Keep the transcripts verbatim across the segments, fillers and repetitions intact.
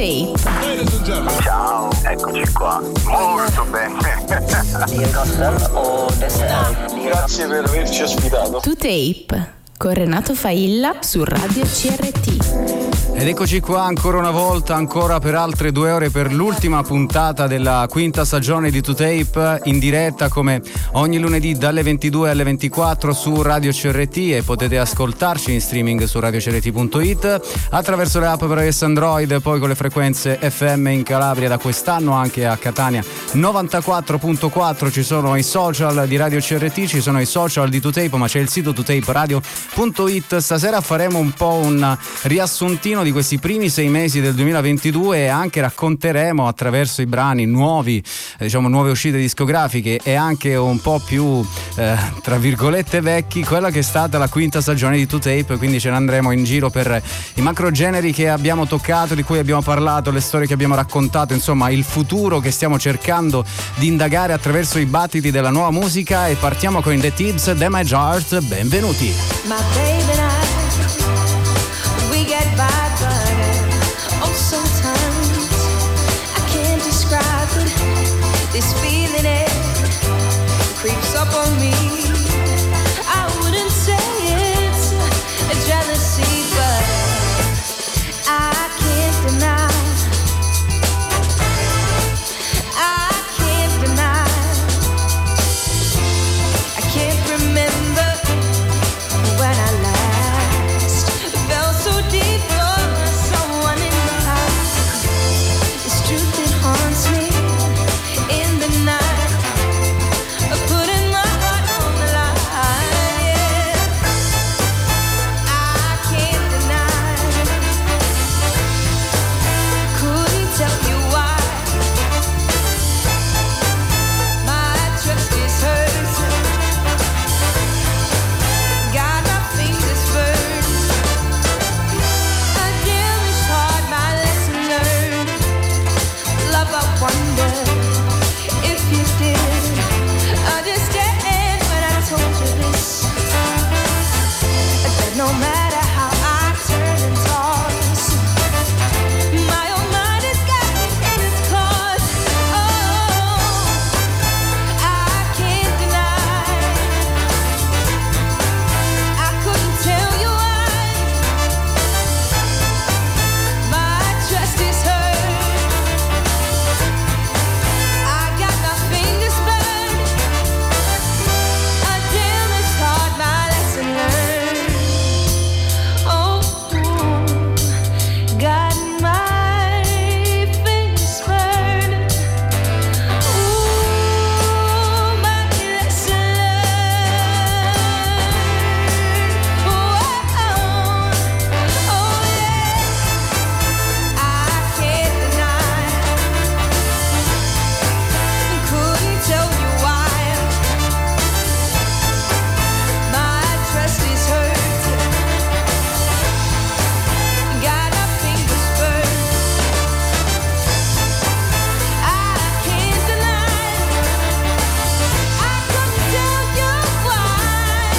Tape. Ciao, eccoci qua. Molto bene. Grazie per averci ospitato. To Tape con Renato Failla su Radio C R T. Ed eccoci qua ancora una volta, ancora per altre due ore per l'ultima puntata della quinta stagione di To Tape, in diretta come ogni lunedì dalle ventidue alle ventiquattro su Radio C R T, e potete ascoltarci in streaming su radio c r t punto i t, attraverso le app per iOS Android, poi con le frequenze F M in Calabria, da quest'anno anche a Catania novantaquattro virgola quattro. Ci sono i social di Radio C R T, ci sono i social di To Tape, ma c'è il sito to tape radio punto i t. Stasera faremo un po' un riassuntino di questi primi sei mesi del duemilaventidue e anche racconteremo attraverso i brani nuovi, eh, diciamo nuove uscite discografiche e anche un po' più eh, tra virgolette vecchi, quella che è stata la quinta stagione di To Tape. Quindi ce ne andremo in giro per i macro generi che abbiamo toccato, di cui abbiamo parlato, le storie che abbiamo raccontato, insomma il futuro che stiamo cercando di indagare attraverso i battiti della nuova musica. E partiamo con The Tips, The My Heart. Benvenuti. My baby and I, we get by, but oh sometimes I can't describe it. This feeling, it creeps up on me. I wouldn't say it's a jealousy, but I can't deny. I can't deny. I can't remember when I last felt so deep for someone in the past. This truth, it haunts me in the night, putting my heart on the line. Yeah, I can't deny. Couldn't tell you why. My trust is hurt. Got my fingers burned. A damaged heart, my lesson learned. Love, I wonder if you did understand when I told you this, that no matter how I turn and toss, my own mind has got me in its claws. Oh, I can't deny. I couldn't tell you why. My trust is hurt. I got my fingers burned. A damaged heart, my lesson learned. Oh, got my fingers burned. Ooh, my lesson learned. Oh, oh yeah. I can't deny. Couldn't tell you why. My trust is hurt. Got my fingers burned. I can't deny. I couldn't tell you why.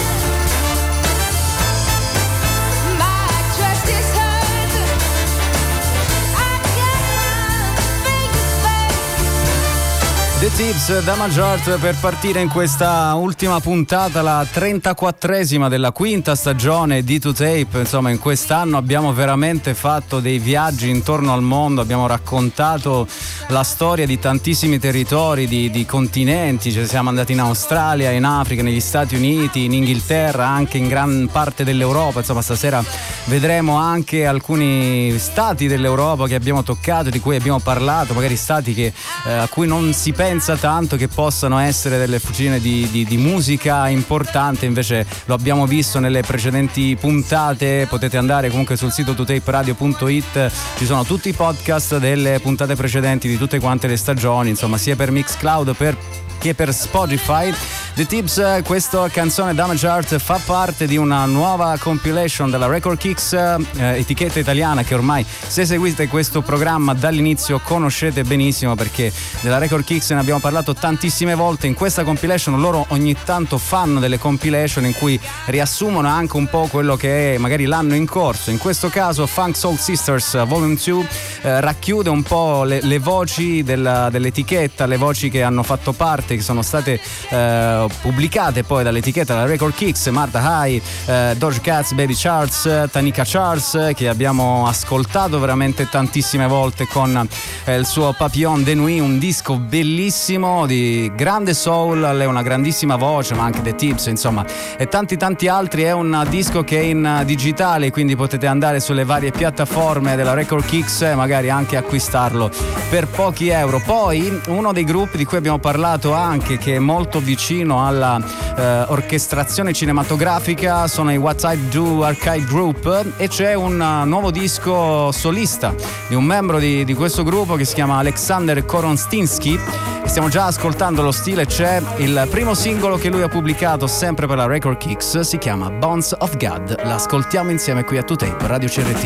My trust is hurt. I got my fingers burned. The Tips, da Majort, per partire in questa ultima puntata, la trentaquattresima della quinta stagione di To Tape. Insomma, in quest'anno abbiamo veramente fatto dei viaggi intorno al mondo, abbiamo raccontato la storia di tantissimi territori, di, di continenti. Cioè, siamo andati in Australia, in Africa, negli Stati Uniti, in Inghilterra, anche in gran parte dell'Europa. Insomma, stasera vedremo anche alcuni stati dell'Europa che abbiamo toccato, di cui abbiamo parlato, magari stati che, eh, a cui non si pensa tanto che possano essere delle fucine di, di, di musica importante, invece lo abbiamo visto nelle precedenti puntate. Potete andare comunque sul sito to tape radio punto i t, ci sono tutti i podcast delle puntate precedenti di tutte quante le stagioni, insomma, sia per Mixcloud per che per Spotify. The Tips, questa canzone Damage Art fa parte di una nuova compilation della Record Kicks, eh, etichetta italiana che ormai, se seguite questo programma dall'inizio, conoscete benissimo, perché della Record Kicks ne abbiamo parlato tantissime volte. In questa compilation loro ogni tanto fanno delle compilation in cui riassumono anche un po' quello che è magari l'anno in corso. In questo caso Funk Soul Sisters Volume due eh, racchiude un po' le, le voci della, dell'etichetta, le voci che hanno fatto parte, che sono state eh, pubblicate poi dall'etichetta della Record Kicks: Martha High, eh, Doja Cat, Baby Charles, Tanika Charles, che abbiamo ascoltato veramente tantissime volte con eh, il suo Papillon de Nuit, un disco bellissimo di grande soul, lei ha una grandissima voce, ma anche The Tips, insomma, e tanti tanti altri. È un disco che è in digitale, quindi potete andare sulle varie piattaforme della Record Kicks e magari anche acquistarlo per pochi euro. Poi uno dei gruppi di cui abbiamo parlato anche, che è molto vicino alla eh, orchestrazione cinematografica, sono i What I Do Arcade Group, e c'è un uh, nuovo disco solista di un membro di, di questo gruppo che si chiama Alexander Koronstinsky. Stiamo già ascoltando lo stile, c'è il primo singolo che lui ha pubblicato sempre per la Record Kicks, si chiama Bones of God. L'ascoltiamo insieme qui a two tape Radio C R T.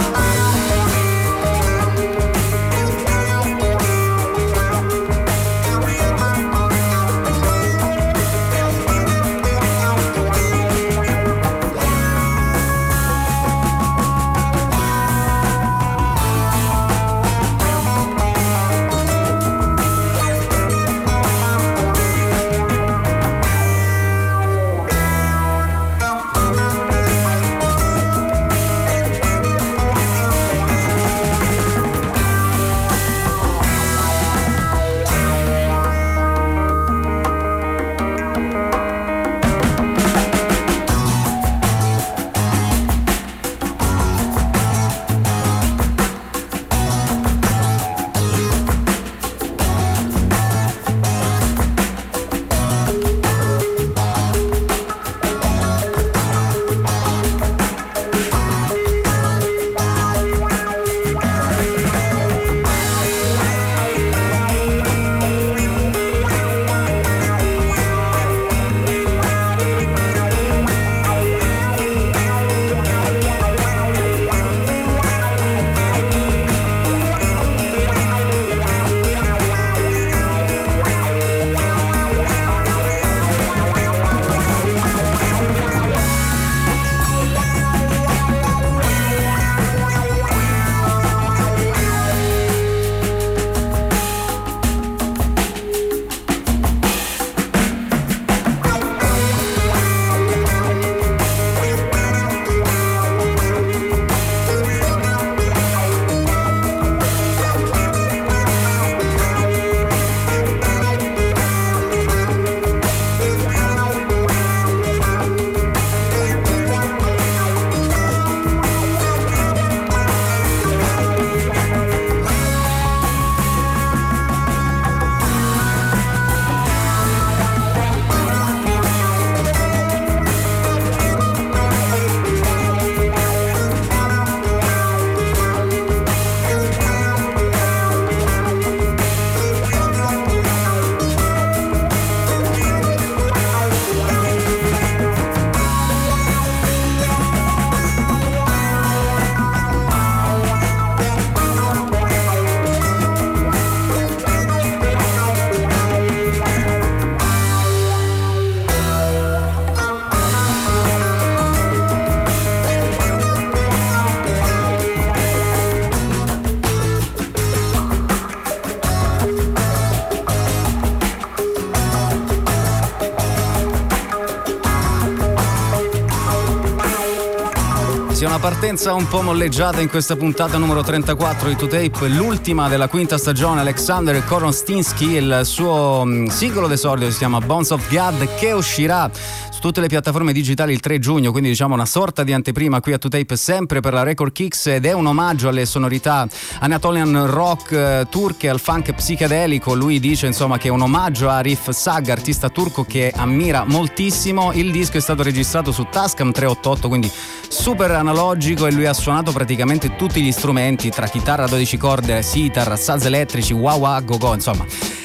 Una partenza un po' molleggiata in questa puntata numero trentaquattro di two tape, l'ultima della quinta stagione. Alexander Koronstinsky, il suo singolo d'esordio si chiama Bones of God, che uscirà su tutte le piattaforme digitali il tre giugno, quindi diciamo una sorta di anteprima qui a two tape sempre per la Record Kicks, ed è un omaggio alle sonorità Anatolian rock eh, turche, al funk psichedelico. Lui dice insomma che è un omaggio a Arif Sag, artista turco che ammira moltissimo. Il disco è stato registrato su Tascam trecentottantotto, quindi super analogico, e lui ha suonato praticamente tutti gli strumenti, tra chitarra a dodici corde, sitar, saz elettrici, wah wah, go go, insomma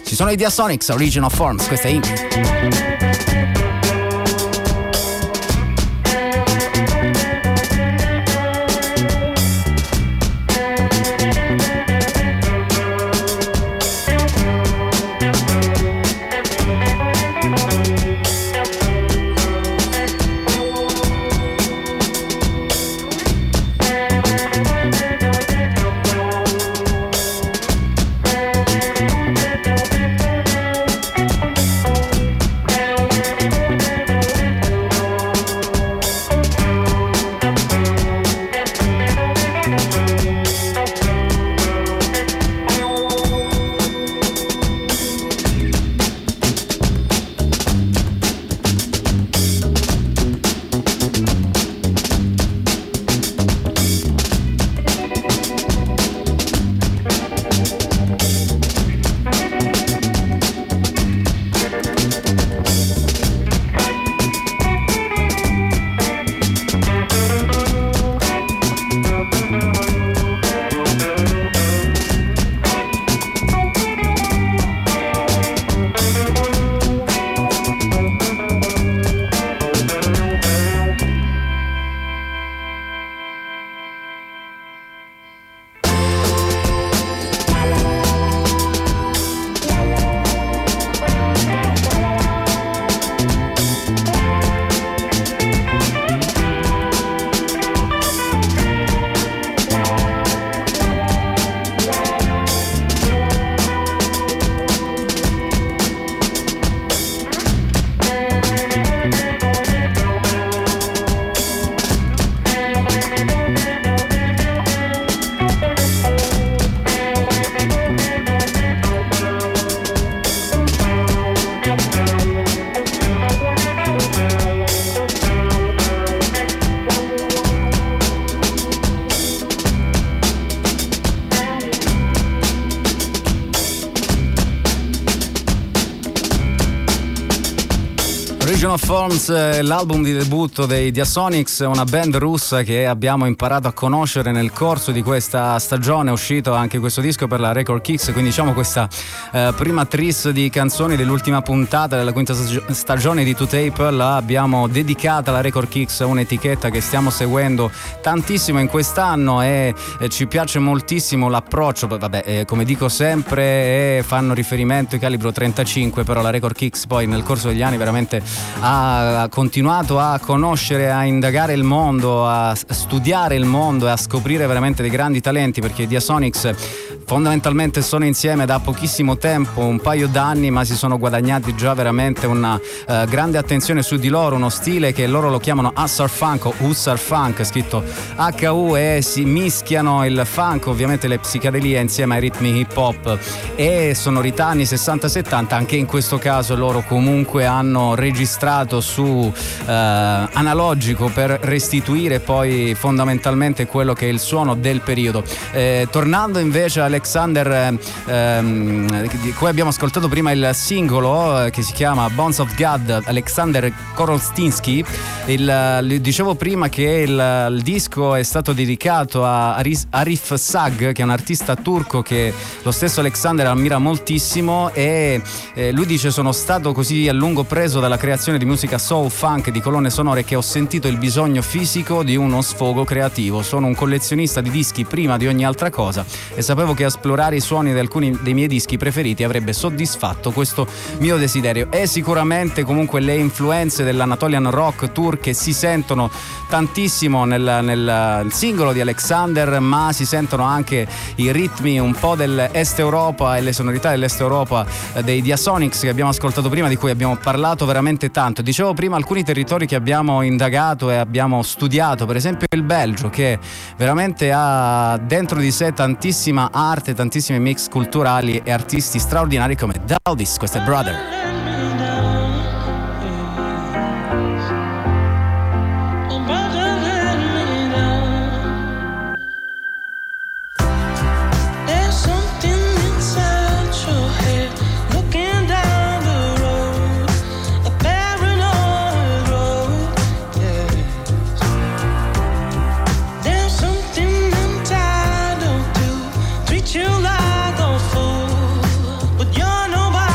Ci sono i Diasonics, Origin of Forms, questa è Ink. Origin of Forms, l'album di debutto dei Diasonics, una band russa che abbiamo imparato a conoscere nel corso di questa stagione. È uscito anche questo disco per la Record Kicks, quindi diciamo questa eh, prima tris di canzoni dell'ultima puntata della quinta stagione di two tape l'abbiamo dedicata alla Record Kicks, un'etichetta che stiamo seguendo tantissimo in quest'anno e, e ci piace moltissimo l'approccio. Vabbè, eh, come dico sempre, eh, fanno riferimento ai calibro trentacinque, però la Record Kicks poi nel corso degli anni veramente ha continuato a conoscere, a indagare il mondo, a studiare il mondo e a scoprire veramente dei grandi talenti, perché i Diasonics fondamentalmente sono insieme da pochissimo tempo, un paio d'anni, ma si sono guadagnati già veramente una uh, grande attenzione su di loro, uno stile che loro lo chiamano Hussar Funk o Hussar Funk, scritto H U, e si mischiano il funk, ovviamente le psichedelie insieme ai ritmi hip hop e sonorità anni sessanta settanta. Anche in questo caso loro comunque hanno registrato su uh, analogico per restituire poi fondamentalmente quello che è il suono del periodo. Eh, tornando invece a Alexander, ehm, di cui abbiamo ascoltato prima il singolo eh, che si chiama Bones of God, Alexander Korolstinsky. Il, il, dicevo prima che il, il disco è stato dedicato a Aris, Arif Sag, che è un artista turco che lo stesso Alexander ammira moltissimo, e eh, lui dice: sono stato così a lungo preso dalla creazione di musica soul, funk, di colonne sonore, che ho sentito il bisogno fisico di uno sfogo creativo. Sono un collezionista di dischi prima di ogni altra cosa e sapevo che esplorare i suoni di alcuni dei miei dischi preferiti avrebbe soddisfatto questo mio desiderio. E sicuramente comunque le influenze dell'Anatolian rock turche si sentono tantissimo nel, nel singolo di Alexander, ma si sentono anche i ritmi un po' dell'Est Europa e le sonorità dell'Est Europa dei Diasonics che abbiamo ascoltato prima, di cui abbiamo parlato veramente tanto. Dicevo prima alcuni territori che abbiamo indagato e abbiamo studiato, per esempio il Belgio, che veramente ha dentro di sé tantissima arte, tantissimi mix culturali e artisti straordinari come Daldis. Questo è Brother. You like a fool, but you're nobody.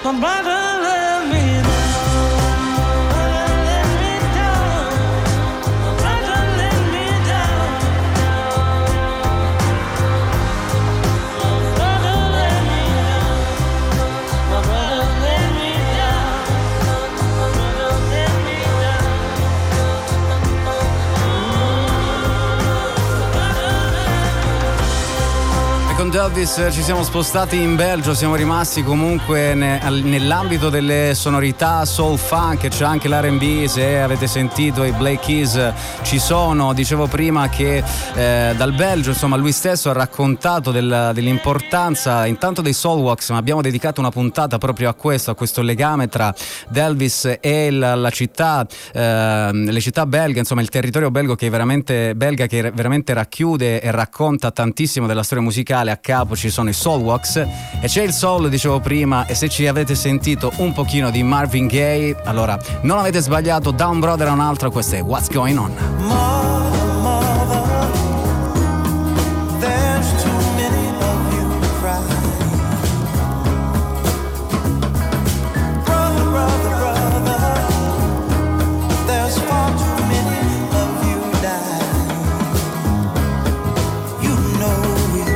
My brother let me down. Con Elvis ci siamo spostati in Belgio, siamo rimasti comunque ne, nell'ambito delle sonorità soul funk, c'è anche l'R and B, se avete sentito i Black Keys ci sono. Dicevo prima che eh, dal Belgio, insomma, lui stesso ha raccontato del, dell'importanza intanto dei Soulwax, ma abbiamo dedicato una puntata proprio a questo, a questo legame tra Elvis e la, la città, eh, le città belghe, insomma il territorio belgo che è veramente belga, che veramente racchiude e racconta tantissimo della storia musicale. A capo ci sono i Soulwax e c'è il soul, dicevo prima, e se ci avete sentito un pochino di Marvin Gaye, allora non avete sbagliato. Da un brother a un altro, questo è What's Going On. Mother, mother, there's too many of you crying. Brother, brother, brother, there's far too many of you dying. You know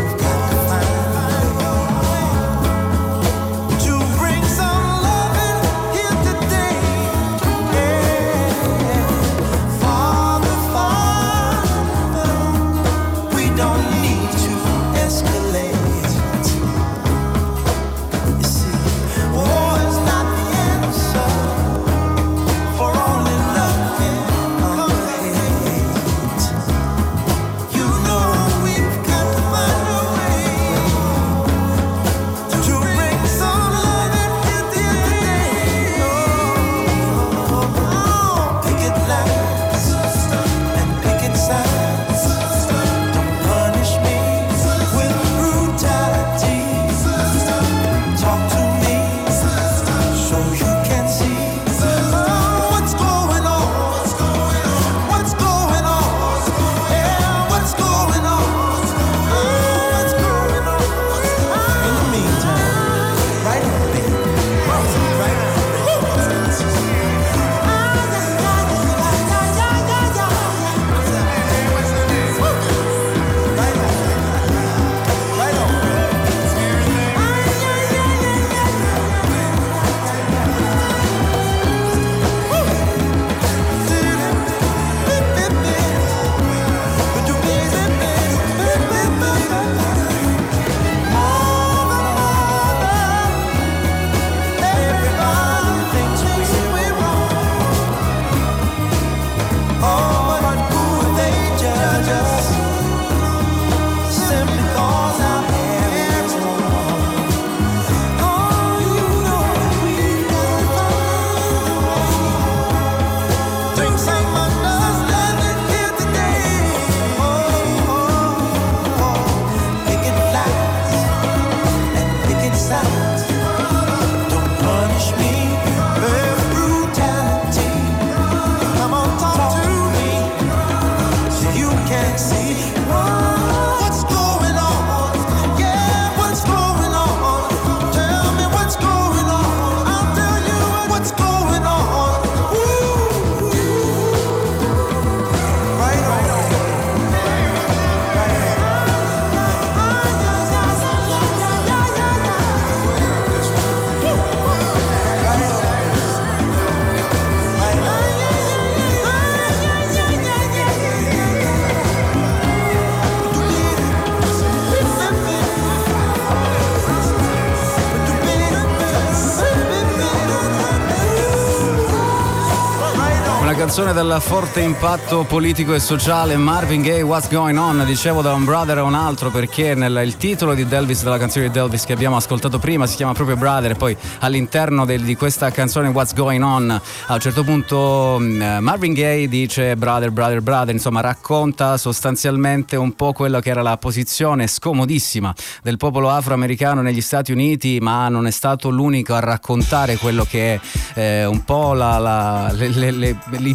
canzone dal forte impatto politico e sociale, Marvin Gaye, What's Going On. Dicevo da un brother a un altro perché nel, il titolo di Elvis, della canzone di Elvis che abbiamo ascoltato prima, si chiama proprio Brother, e poi all'interno del, di questa canzone What's Going On a un certo punto uh, Marvin Gaye dice brother, brother, brother, insomma racconta sostanzialmente un po' quello che era la posizione scomodissima del popolo afroamericano negli Stati Uniti, ma non è stato l'unico a raccontare quello che è eh, un po' la, la, le, le, le, i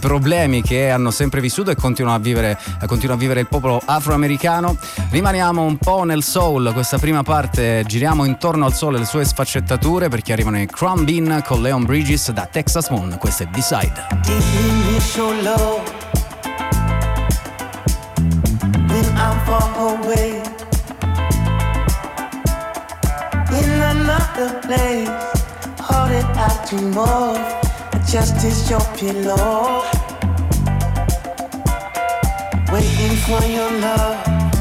problemi che hanno sempre vissuto e continua a vivere, continua a vivere il popolo afroamericano. Rimaniamo un po' nel soul, questa prima parte giriamo intorno al soul e le sue sfaccettature, perché arrivano i Crumb Bean con Leon Bridges da Texas Moon, questo è B-Side. When I'm far away in another place, holding out to more, just as your pillow, waiting for your love.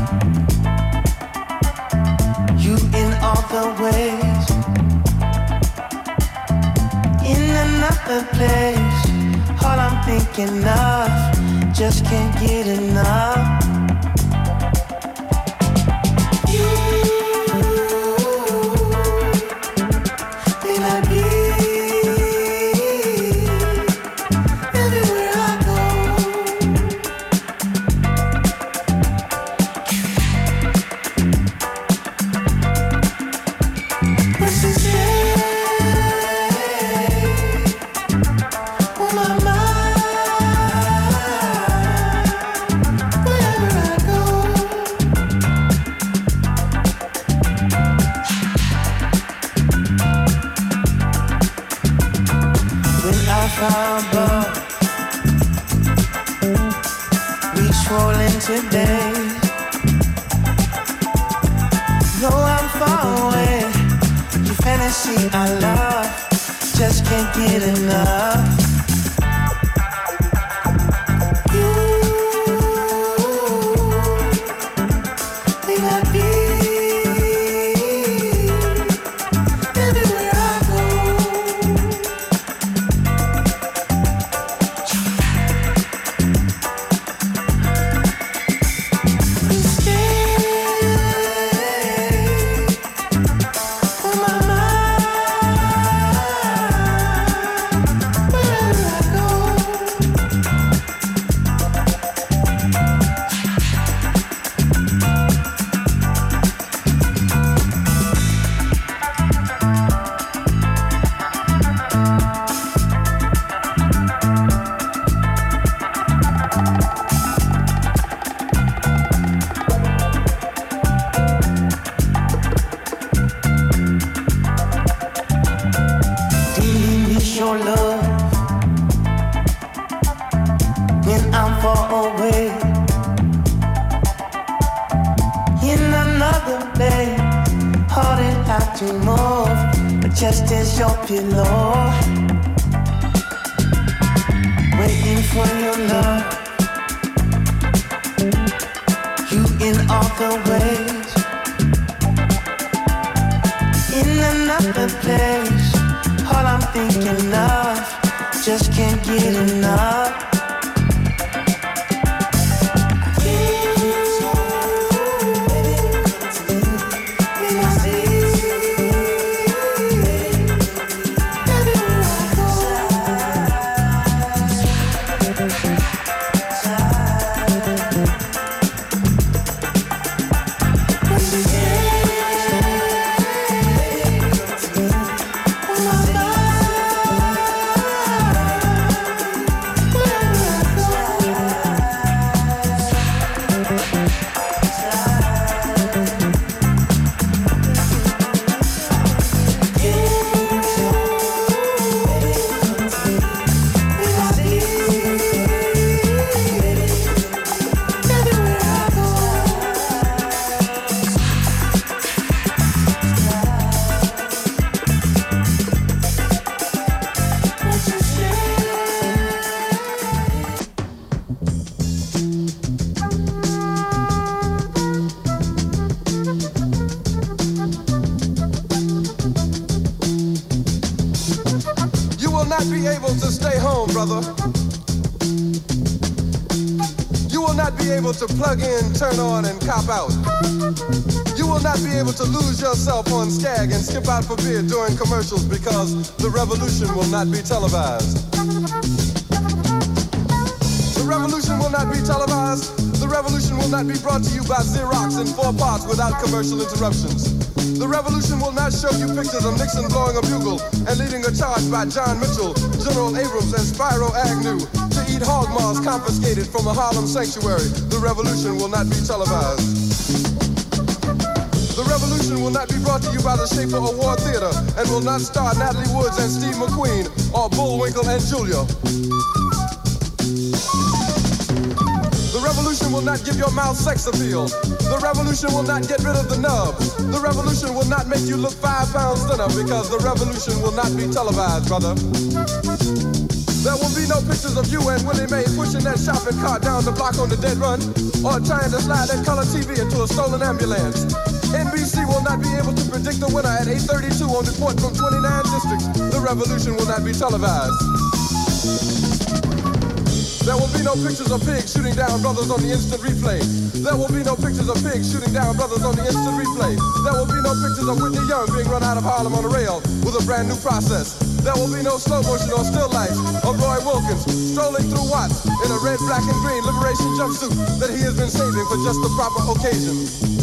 You in all the ways, in another place, all I'm thinking of, just can't get enough. Today, though I'm far away, your fantasy I love, just can't get enough. You may not be everywhere I To plug in, turn on, and cop out. You will not be able to lose yourself on Skag and skip out for beer during commercials because the revolution will not be televised. The revolution will not be televised. The revolution will not be brought to you by Xerox in four parts without commercial interruptions. The revolution will not show you pictures of Nixon blowing a bugle and leading a charge by John Mitchell, General Abrams, and Spyro Agnew. to eat hog maws confiscated from a Harlem sanctuary. The revolution will not be televised. The revolution will not be brought to you by the Schaefer Award Theater and will not star Natalie Woods and Steve McQueen or Bullwinkle and Julia. The revolution will not give your mouth sex appeal. The revolution will not get rid of the nub. The revolution will not make you look five pounds thinner because the revolution will not be televised, brother. There will be no pictures of you and Willie Mae pushing that shopping cart down the block on the dead run or trying to slide that color T V into a stolen ambulance. N B C will not be able to predict the winner at eight thirty-two on report from twenty-nine districts. The revolution will not be televised. There will be no pictures of pigs shooting down brothers on the instant replay. There will be no pictures of pigs shooting down brothers on the instant replay. There will be no pictures of Whitney Young being run out of Harlem on a rail with a brand new process. There will be no slow motion or still life of Roy Wilkins strolling through Watts in a red, black, and green liberation jumpsuit that he has been saving for just the proper occasion.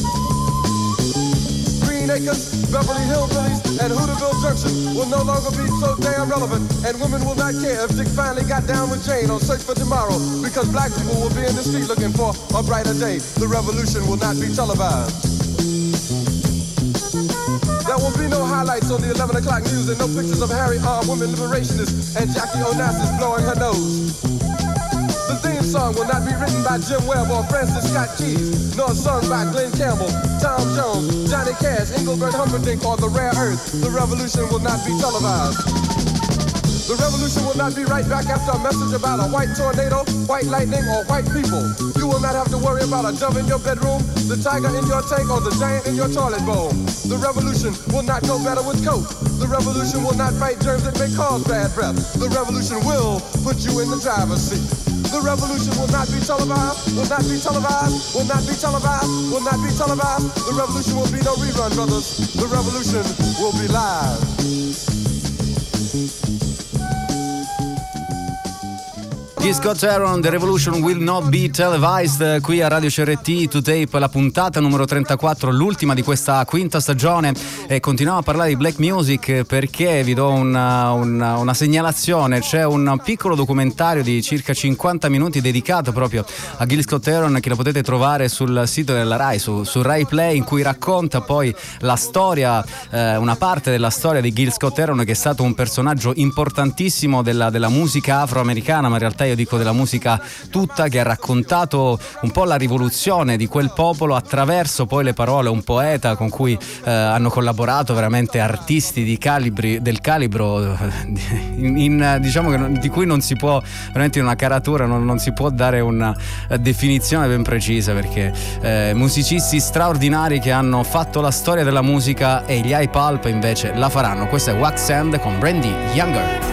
Acres, Beverly Hillbillies, and Hooterville Junction will no longer be so damn relevant, and women will not care if Dick finally got down with Jane on Search for Tomorrow, because black people will be in the street looking for a brighter day. The revolution will not be televised. There will be no highlights on the eleven o'clock news and no pictures of Harry armed women liberationists and Jackie Onassis blowing her nose. The theme song will not be written by Jim Webb or Francis Scott Keys, nor sung by Glenn Campbell, Tom Jones, Johnny Cash, Engelbert Humperdinck, or The Rare Earth. The revolution will not be televised. The revolution will not be right back after a message about a white tornado, white lightning, or white people. You will not have to worry about a dove in your bedroom, the tiger in your tank, or the giant in your toilet bowl. The revolution will not go better with coke. The revolution will not fight germs that may cause bad breath. The revolution will put you in the driver's seat. The revolution will not be televised, will not be televised, will not be televised, will not be televised. The revolution will be no rerun, brothers. The revolution will be live. Gil Scott-Heron, The Revolution Will Not Be Televised, qui a Radio C R T To Tape, la puntata numero trentaquattro, l'ultima di questa quinta stagione, e continuiamo a parlare di black music perché vi do una, una, una segnalazione. C'è un piccolo documentario di circa cinquanta minuti dedicato proprio a Gil Scott-Heron che lo potete trovare sul sito della Rai, su, su Rai Play, in cui racconta poi la storia, eh, una parte della storia di Gil Scott-Heron, che è stato un personaggio importantissimo della, della musica afroamericana, ma in realtà io dico della musica tutta, che ha raccontato un po' la rivoluzione di quel popolo attraverso poi le parole, un poeta con cui eh, hanno collaborato veramente artisti di calibri, del calibro in, in, diciamo che di cui non si può veramente in una caratura non, non si può dare una definizione ben precisa, perché eh, musicisti straordinari che hanno fatto la storia della musica, e gli I-Pulp invece la faranno. Questo è Wax End con Brandy Younger.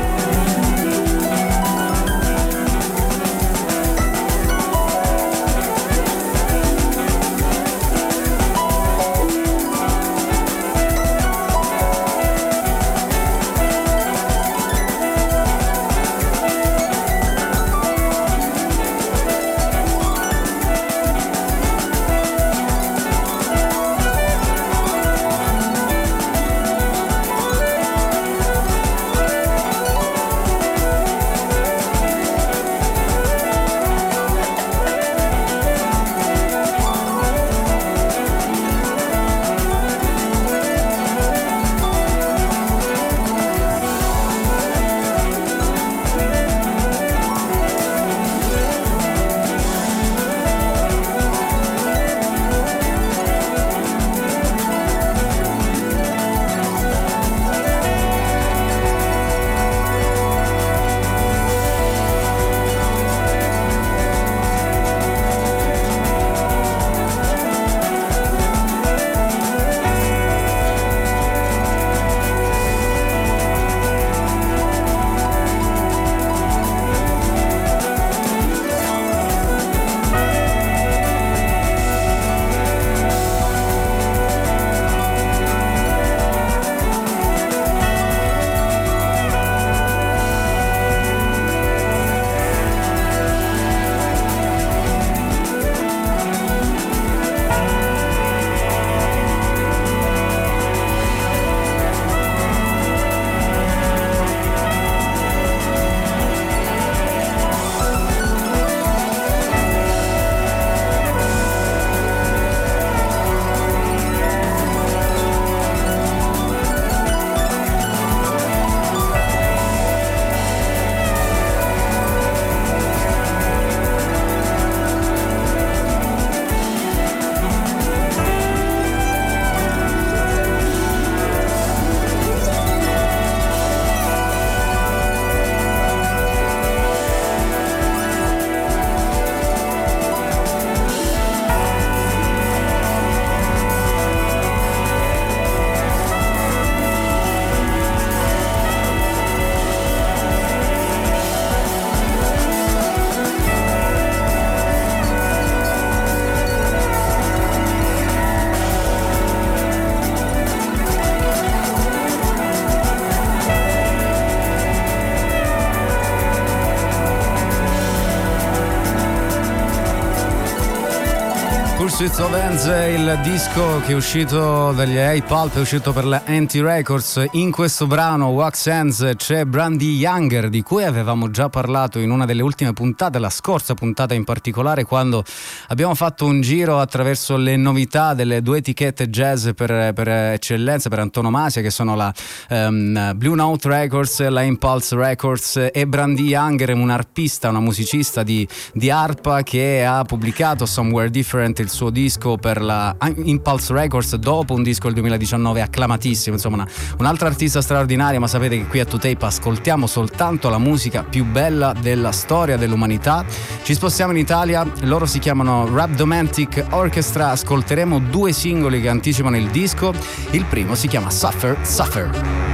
Pursuit of Hands, il disco che è uscito dagli A-Pulp, è uscito per la Anti Records. In questo brano Wax Hands c'è Brandy Younger, di cui avevamo già parlato in una delle ultime puntate, la scorsa puntata in particolare, quando abbiamo fatto un giro attraverso le novità delle due etichette jazz per, per eccellenza, per antonomasia, che sono la um, Blue Note Records, la Impulse Records, e Brandy Younger è un arpista, una musicista di, di arpa che ha pubblicato Somewhere Different, il suo disco per la Impulse Records, dopo un disco del duemiladiciannove acclamatissimo. Insomma, una, un'altra artista straordinaria, ma sapete che qui a To Tape ascoltiamo soltanto la musica più bella della storia dell'umanità. Ci spostiamo in Italia, loro si chiamano Rhabdomantic Orchestra, ascolteremo due singoli che anticipano il disco. Il primo si chiama Suffer Suffer.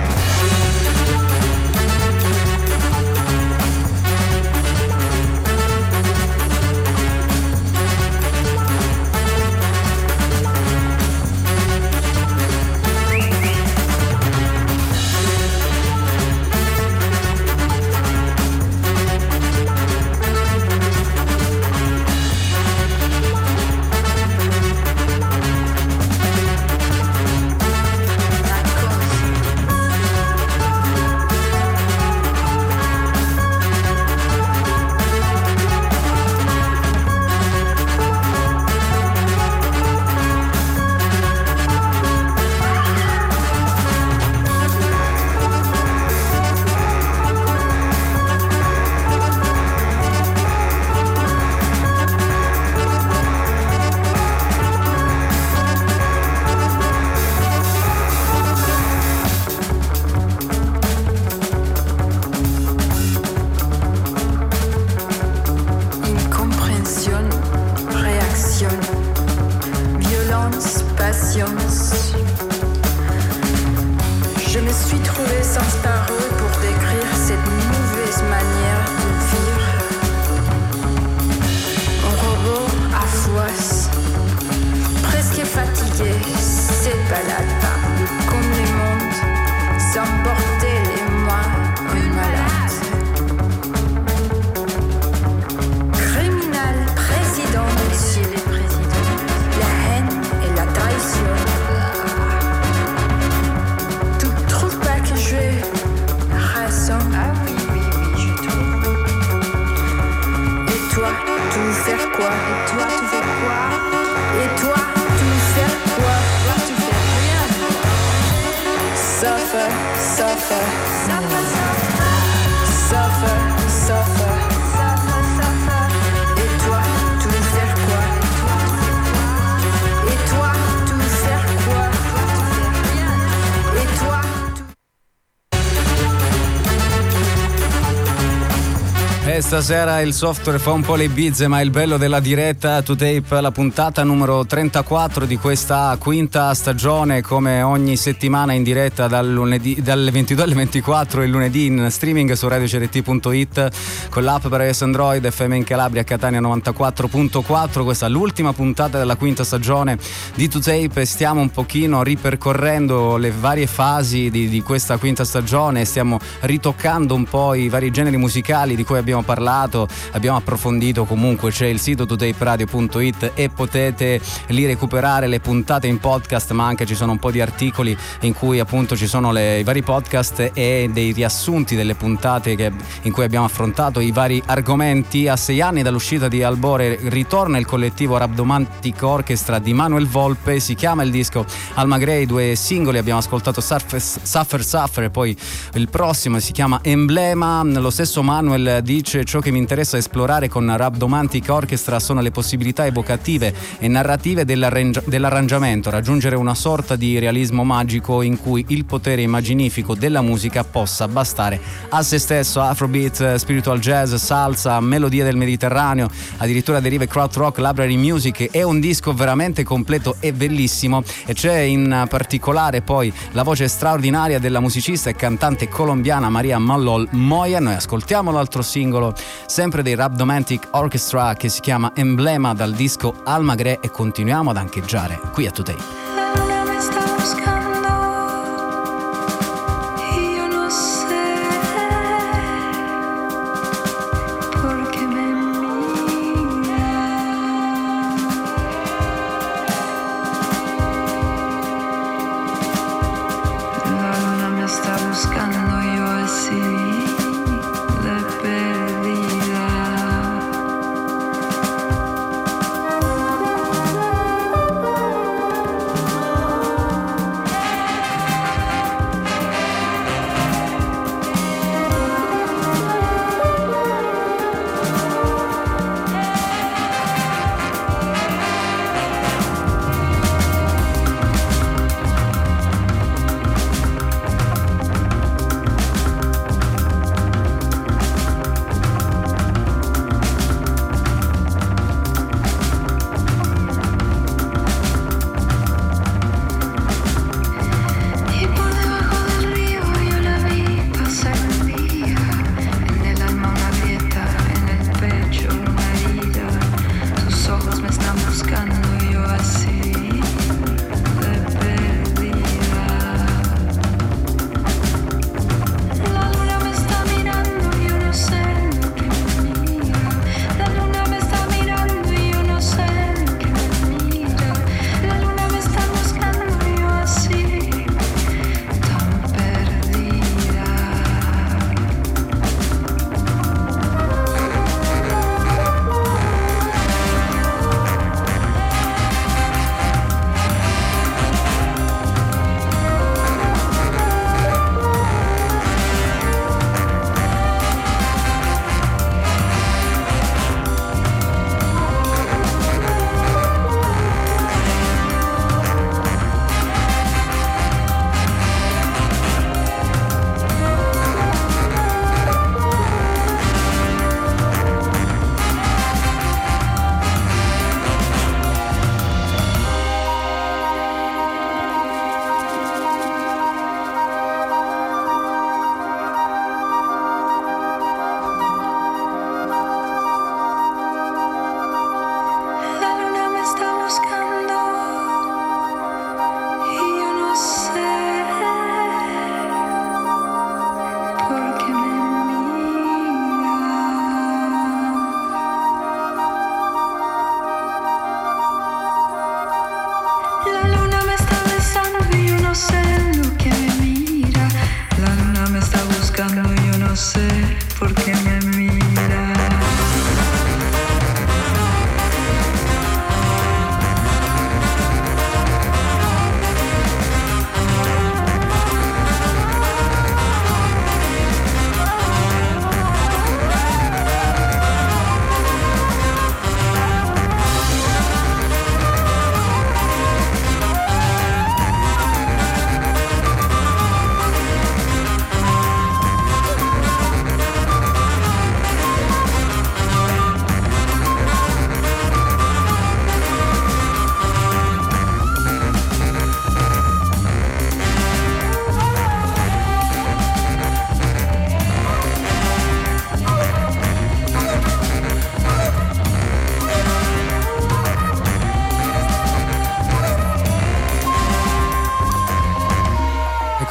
Stasera il software fa un po' le bizze, ma il bello della diretta To Tape, la puntata numero trentaquattro di questa quinta stagione, come ogni settimana in diretta dal lunedì, dalle ventidue alle ventiquattro, il lunedì in streaming su radio c r t punto i t con l'app per iOS Android, F M in Calabria, Catania novantaquattro virgola quattro. Questa è l'ultima puntata della quinta stagione di To Tape. Stiamo un pochino ripercorrendo le varie fasi di, di questa quinta stagione, stiamo ritoccando un po' i vari generi musicali di cui abbiamo parlato. Abbiamo approfondito, comunque c'è il sito to tape radio punto i t e potete lì recuperare le puntate in podcast, ma anche ci sono un po' di articoli in cui appunto ci sono le, i vari podcast e dei riassunti delle puntate che, in cui abbiamo affrontato i vari argomenti. A sei anni dall'uscita di Albore ritorna il collettivo Rhabdomantic Orchestra di Manuel Volpe, si chiama il disco Alma Grey, due singoli abbiamo ascoltato, Suffer Suffer, Suffer e poi il prossimo si chiama Emblema. Lo stesso Manuel dice: ciò che mi interessa esplorare con Rhabdomantic Orchestra sono le possibilità evocative e narrative dell'arrangi- dell'arrangiamento, raggiungere una sorta di realismo magico in cui il potere immaginifico della musica possa bastare a se stesso. Afrobeat, spiritual jazz, salsa, melodie del Mediterraneo, addirittura derive krautrock, library music. È un disco veramente completo e bellissimo, e c'è in particolare poi la voce straordinaria della musicista e cantante colombiana Maria Mallol Moya. Noi ascoltiamo l'altro singolo sempre dei Rhabdomantic Orchestra che si chiama Emblema, dal disco Alma Grey, e continuiamo ad ancheggiare qui a To Tape.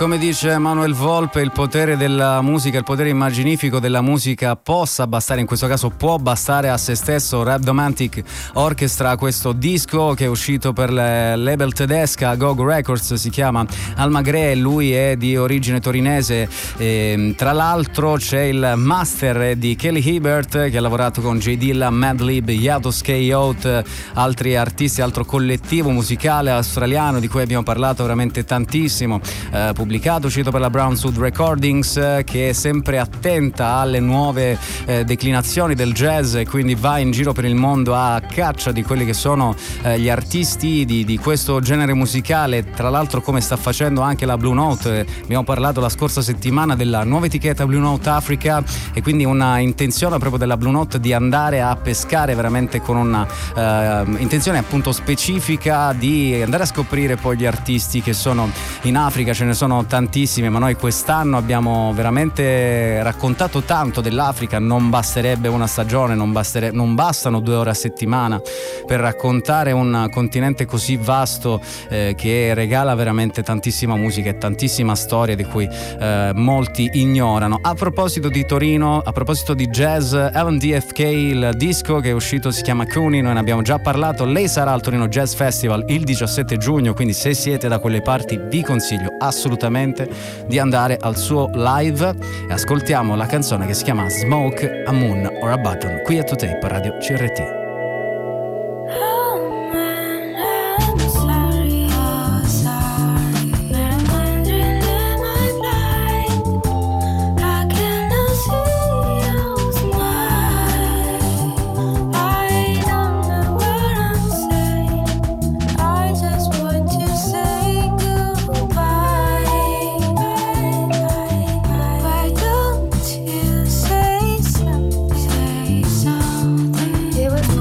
come dice Manuel Volpe, il potere della musica, il potere immaginifico della musica possa bastare, in questo caso può bastare a se stesso. Rhabdomantic Orchestra, questo disco che è uscito per la label tedesca G O G Records, si chiama Almagre, lui è di origine torinese, e, tra l'altro c'è il master di Kelly Hibbert che ha lavorato con J Dilla, Madlib, Yados K-Out, altri artisti, altro collettivo musicale australiano di cui abbiamo parlato veramente tantissimo, eh, pubblicato, uscito per la Brownswood Recordings, eh, che è sempre attenta alle nuove eh, declinazioni del jazz e quindi va in giro per il mondo a caccia di quelli che sono eh, gli artisti di, di questo genere musicale. Tra l'altro, come sta facendo anche la Blue Note, eh, abbiamo parlato la scorsa settimana della nuova etichetta Blue Note Africa, e quindi una intenzione proprio della Blue Note di andare a pescare veramente con una eh, intenzione appunto specifica di andare a scoprire poi gli artisti che sono in Africa. Ce ne sono tantissimi, ma noi quest'anno abbiamo veramente raccontato tanto dell'Africa. Non basterebbe una stagione, non, bastere, non bastano due ore a settimana per raccontare un continente così vasto eh, che regala veramente tantissima musica e tantissima storia di cui eh, molti ignorano. A proposito di Torino, a proposito di jazz, Evan D F K, il disco che è uscito si chiama Cooney, noi ne abbiamo già parlato. Lei sarà al Torino Jazz Festival il diciassette giugno, quindi se siete da quelle parti vi consiglio assolutamente di andare al suo live, e ascoltiamo la canzone che si chiama Smoke, a Moon or a Button qui a To Tape Radio C R T. It was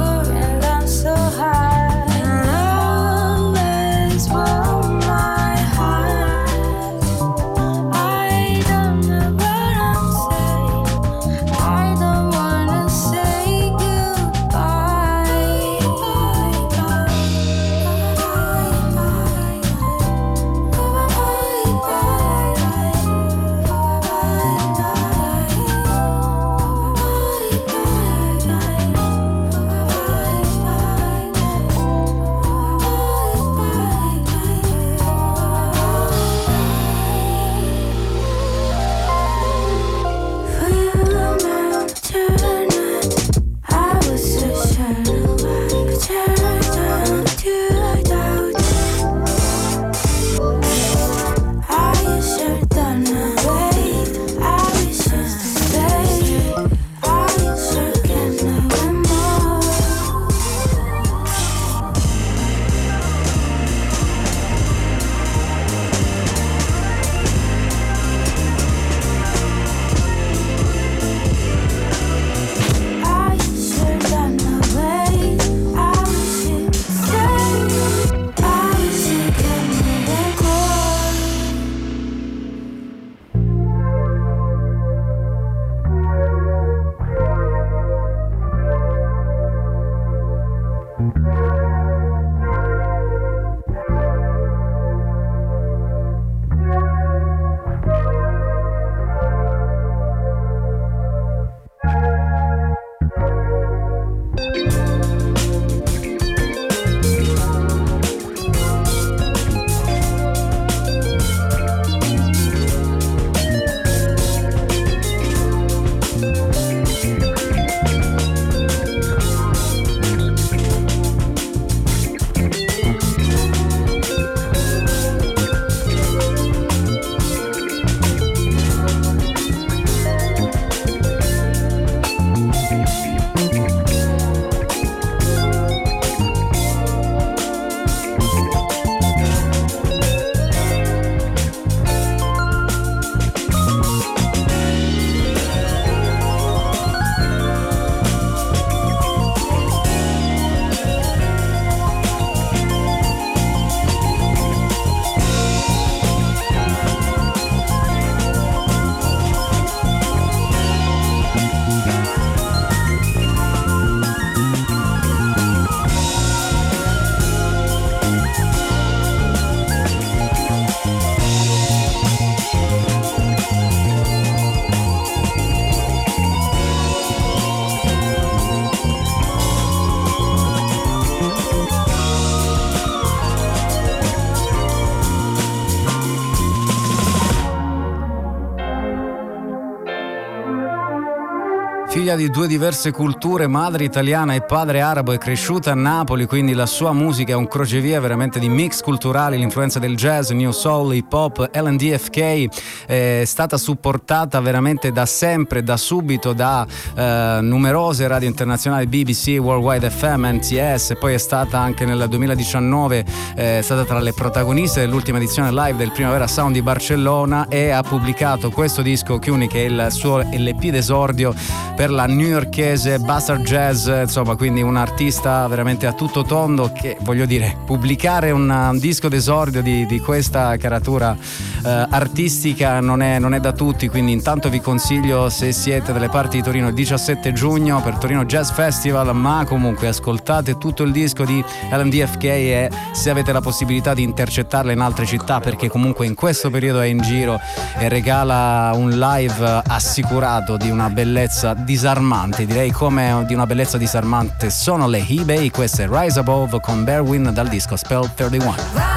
figlia di due diverse culture, madre italiana e padre arabo, è cresciuta a Napoli, quindi la sua musica è un crocevia veramente di mix culturali, l'influenza del jazz, new soul, hip hop, L and D F K, è stata supportata veramente da sempre, da subito, da eh, numerose radio internazionali, B B C, Worldwide F M, N T S, e poi è stata anche nel duemiladiciannove eh, è stata tra le protagoniste dell'ultima edizione live del Primavera Sound di Barcellona e ha pubblicato questo disco Chiuni, che è il suo L P d'esordio per la newyorkese Bastard Jazz, insomma, quindi un artista veramente a tutto tondo che, voglio dire, pubblicare un, un disco d'esordio di, di questa caratura eh, artistica non è, non è da tutti, quindi intanto vi consiglio, se siete dalle parti di Torino, il diciassette giugno per Torino Jazz Festival, ma comunque ascoltate tutto il disco di L and D F K e se avete la possibilità di intercettarla in altre città, perché comunque in questo periodo è in giro e regala un live assicurato di una bellezza disarmante, direi come di una bellezza disarmante sono le eBay. Questa è Rise Above con Berwin dal disco Spell trentuno.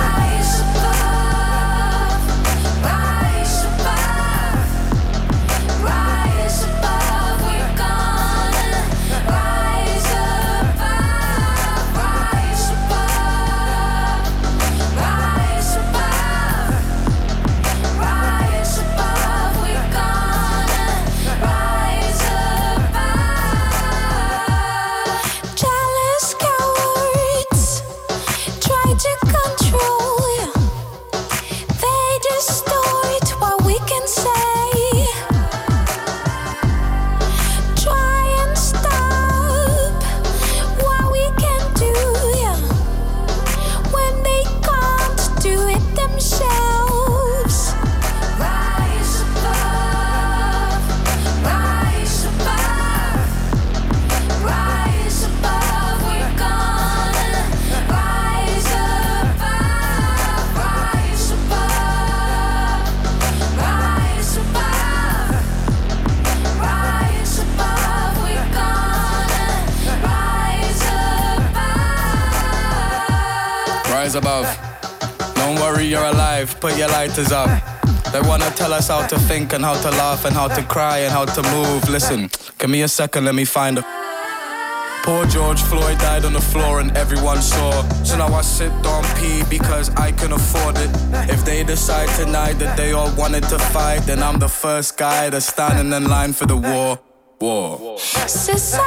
Above. Don't worry, you're alive, put your lighters up. They wanna tell us how to think and how to laugh and how to cry and how to move. Listen, give me a second, let me find a... Poor George Floyd died on the floor and everyone saw. So now I sit on pee because I can afford it. If they decide tonight that they all wanted to fight, then I'm the first guy that's standing in line for the war. War. Society's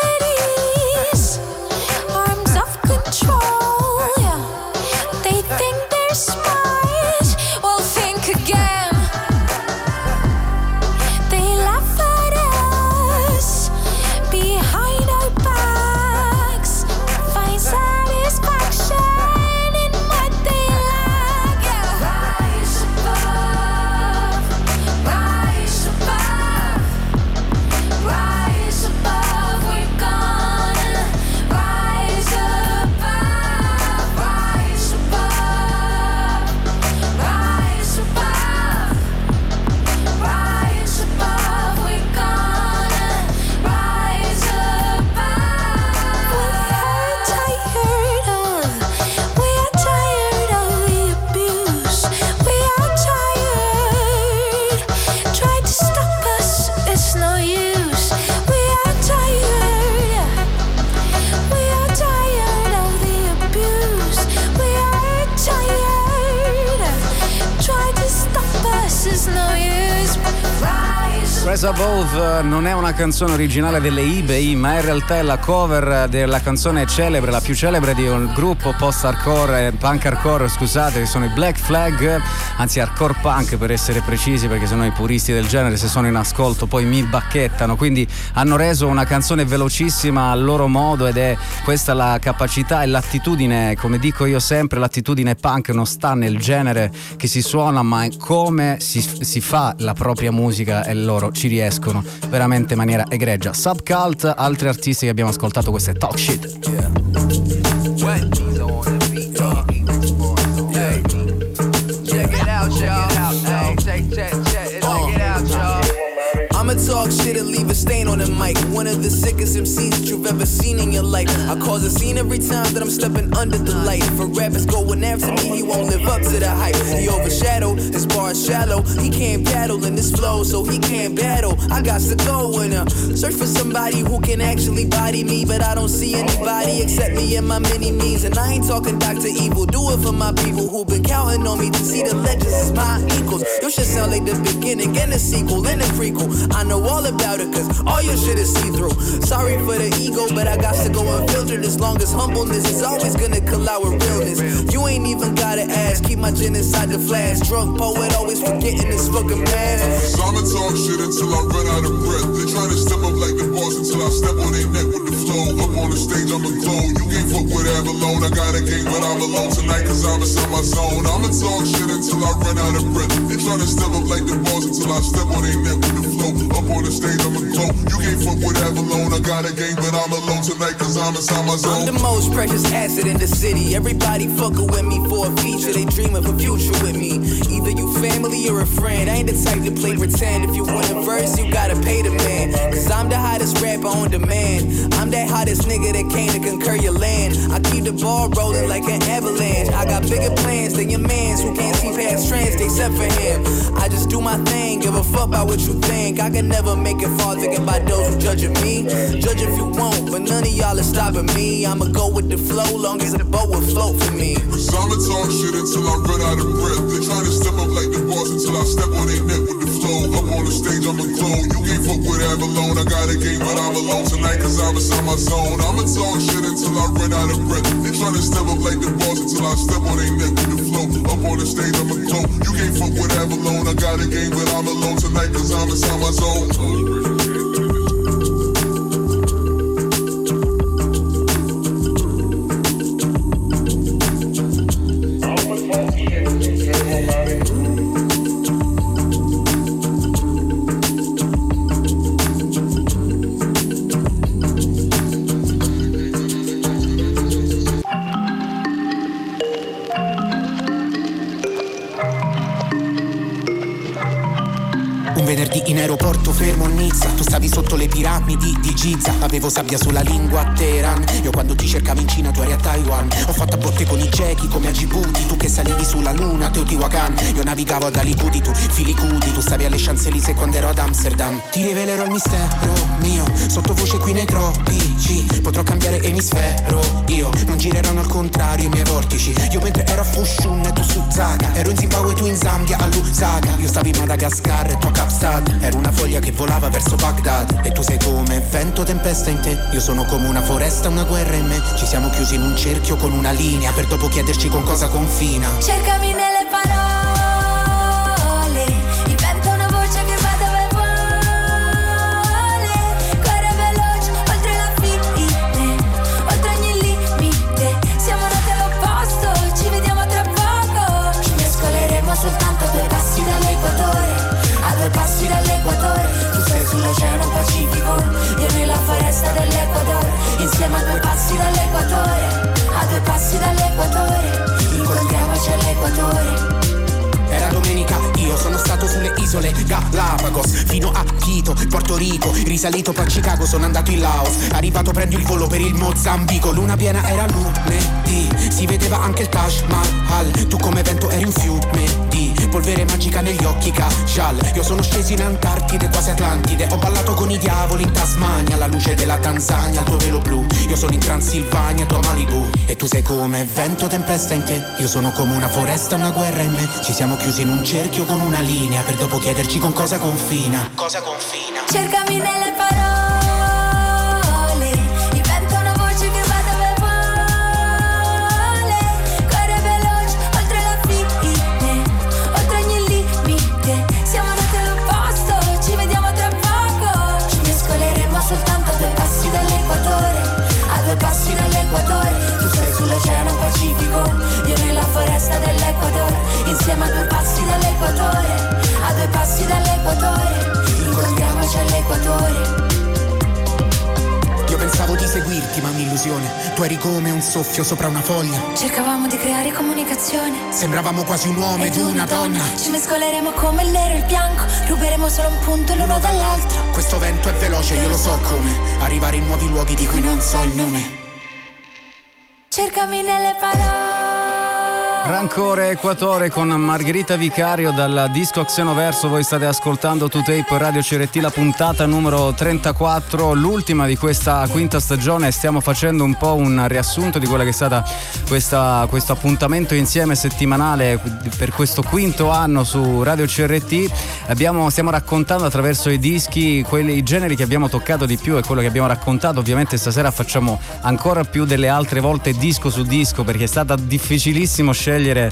arms of control. Think they're smart, well think again. They laugh at us behind our backs, find satisfaction in what they lack. Yeah. Rise above, rise above, rise above, we're gonna rise above, rise above. Rise above, rise above, we're gonna rise above. We're tired of, we are tired of the abuse. We are tired, try to stop us, it's no use. We are tired, we are tired of the abuse. We are tired, try to stop us, it's no use. Rise. Rise Above non è una canzone originale delle eBay, ma in realtà è la cover della canzone celebre, la più celebre di un gruppo post-hardcore, punk hardcore, scusate, che sono i Black Flag, anzi hardcore punk per essere precisi, perché sennò i puristi del genere, se sono in ascolto, poi mi bacchettano. Quindi hanno reso una canzone velocissima al loro modo, ed è questa la capacità e l'attitudine, come dico io sempre, l'attitudine punk non sta nel genere che si suona, ma è come si, si fa la propria musica, e loro ci riescono veramente in maniera egregia. Subcult, altri artisti che abbiamo ascoltato, questo è Talk Shit. Yeah. I'ma talk shit didn't leave a stain on the mic. One of the sickest M Cs that you've ever seen in your life. I cause a scene every time that I'm stepping under the light. For rappers going after me, he won't live up to the hype. He overshadowed, his bar is shallow. He can't battle in this flow, so he can't battle. I got to go and uh, search for somebody who can actually body me, but I don't see anybody except me and my mini-me's. And I ain't talking Doctor Evil, do it for my people who've been counting on me to see the legends as my equals. Your shit sound like the beginning and the sequel and the prequel. I know all about it cause all your shit is see-through. Sorry for the ego, but I got to go unfiltered. As long as humbleness is always gonna collide with realness. You ain't even gotta ask, keep my gin inside the flask. Drunk poet always forgetting his fucking past. So I'ma talk shit until I run out of breath. They trying to step up like the boss until I step on their neck with the flow. Up on the stage I'ma glow. You can't fuck with Avalon. I got a game but I'm alone tonight cause I'm inside my zone. I'ma talk shit until I run out of breath. They trying to step up like the boss until I step on their neck with the flow. Up on the stage I'ma glow. You can't fuck with Avalon. I got a game but I'm alone tonight cause I'm inside my zone. I'm the most precious asset in the city. Everybody fucking with me for a feature. They dreaming for future with me. Either you family or a friend. I ain't the type to play pretend. If you want a verse, you gotta pay the man. Cause I'm the hottest rapper on demand. I'm that hottest nigga that came to conquer your land. I keep the ball rolling like an avalanche. I got bigger plans than your mans who can't see past trends except for him. I just do my thing, give a fuck about what you think. I can never make it fall thinking about those who judging me. Judge if you want, but none of y'all are stopping me. I'ma go with the flow, long as the boat will float for me. So I'ma talk shit until I run out of breath. They trying to step up like the boss until I step on their neck with the flow. Up on the stage I'ma glow. You can't fuck with Avalon. I got a game but I'm alone tonight cause I'm inside my zone. I'ma talk shit until I run out of breath. They trying to step up like the boss until I step on their neck with the flow. Up on the stage I'ma glow. You can't fuck with Avalon. I got a game but I'm alone tonight cause I'm inside my zone. In aeroporto fermo a Nizza, tu stavi sotto le piramidi di Giza. Avevo sabbia sulla lingua a Teheran. Io quando ti cercavo in Cina tu eri a Taiwan. Ho fatto a botte con i gechi come a Djibouti. Tu che salivi sulla luna, Teotihuacan. Io navigavo ad Alicudi, tu Filicudi. Tu stavi alle Champs-Élysées quando ero ad Amsterdam. Ti rivelerò il mistero mio, sottovoce qui nei tropici. Potrò cambiare emisfero, io non gireranno al contrario i miei vortici. Io mentre ero a Fushun e tu su Zaga. Ero in Zimbabwe, tu in Zambia, a Lusaka. Io stavi in Madagascar e tu a Kapstad. Ero una foglia che volava verso Baghdad. E tu sei come vento, tempesta in te. Io sono come una foresta, una guerra in me. Ci siamo chiusi in un cerchio con una linea, per dopo chiederci con cosa confina. Cercami nelle parole, inventa una voce che va dove vuole. Corre veloce, oltre la fine, oltre ogni limite. Siamo nati all'opposto, ci vediamo tra poco. Ci mescoleremo soltanto a due passi dall'equatore. A due passi dall'equatore, tu sei sull'oceano Pacifico, io nella foresta dell'Equador. Insieme a due passi dall'equatore, a due passi dall'equatore, incontriamoci all'equatore. Era domenica, io sono stato sulle isole Galapagos, fino a Quito, Porto Rico, risalito poi a Chicago, sono andato in Laos, arrivato prendo il volo per il Mozambico, luna piena era lunedì, si vedeva anche il Taj Mahal, tu come vento eri un fiume di polvere magica negli occhi Kajal. Io sono sceso in Antartide, quasi Atlantide, ho ballato con i diavoli in Tasmania, alla luce della Tanzania, il tuo velo blu, io sono in Transilvania, tu a Malibu, e tu sei come vento, tempesta in te, io sono come una foresta, una guerra in me, ci siamo chiusi in un cerchio con una linea, per dopo chiederci con cosa confina. Cosa confina? Cercami nelle parole, inventa una voce che va dove vuole. Corre veloce, oltre la fine, oltre ogni limite. Siamo nati all'opposto, ci vediamo tra poco. Ci mescoleremo soltanto a due passi dall'equatore, a due passi dall'equatore. Tu sei sull'oceano Pacifico, io nella foresta dell'Equador. Insieme a due passi dall'equatore, a due passi dall'equatore, incontriamoci all'equatore. Io pensavo di seguire vittima, un'illusione. Tu eri come un soffio sopra una foglia. Cercavamo di creare comunicazione. Sembravamo quasi un uomo ed una donna. Ci mescoleremo come il nero e il bianco. Ruberemo solo un punto l'uno dall'altro. Questo vento è veloce, io lo so come arrivare in nuovi luoghi di cui non so il nome. Cercami nelle parole. Rancore Equatore con Margherita Vicario dal disco Xenoverso. Voi state ascoltando To Tape Radio C R T, la puntata numero trentaquattro, l'ultima di questa quinta stagione. Stiamo facendo un po' un riassunto di quella che è stata questa, questo appuntamento insieme settimanale per questo quinto anno su Radio C R T. Abbiamo, stiamo raccontando attraverso i dischi quelli, i generi che abbiamo toccato di più e quello che abbiamo raccontato. Ovviamente stasera facciamo ancora più delle altre volte disco su disco, perché è stata difficilissimo scegliere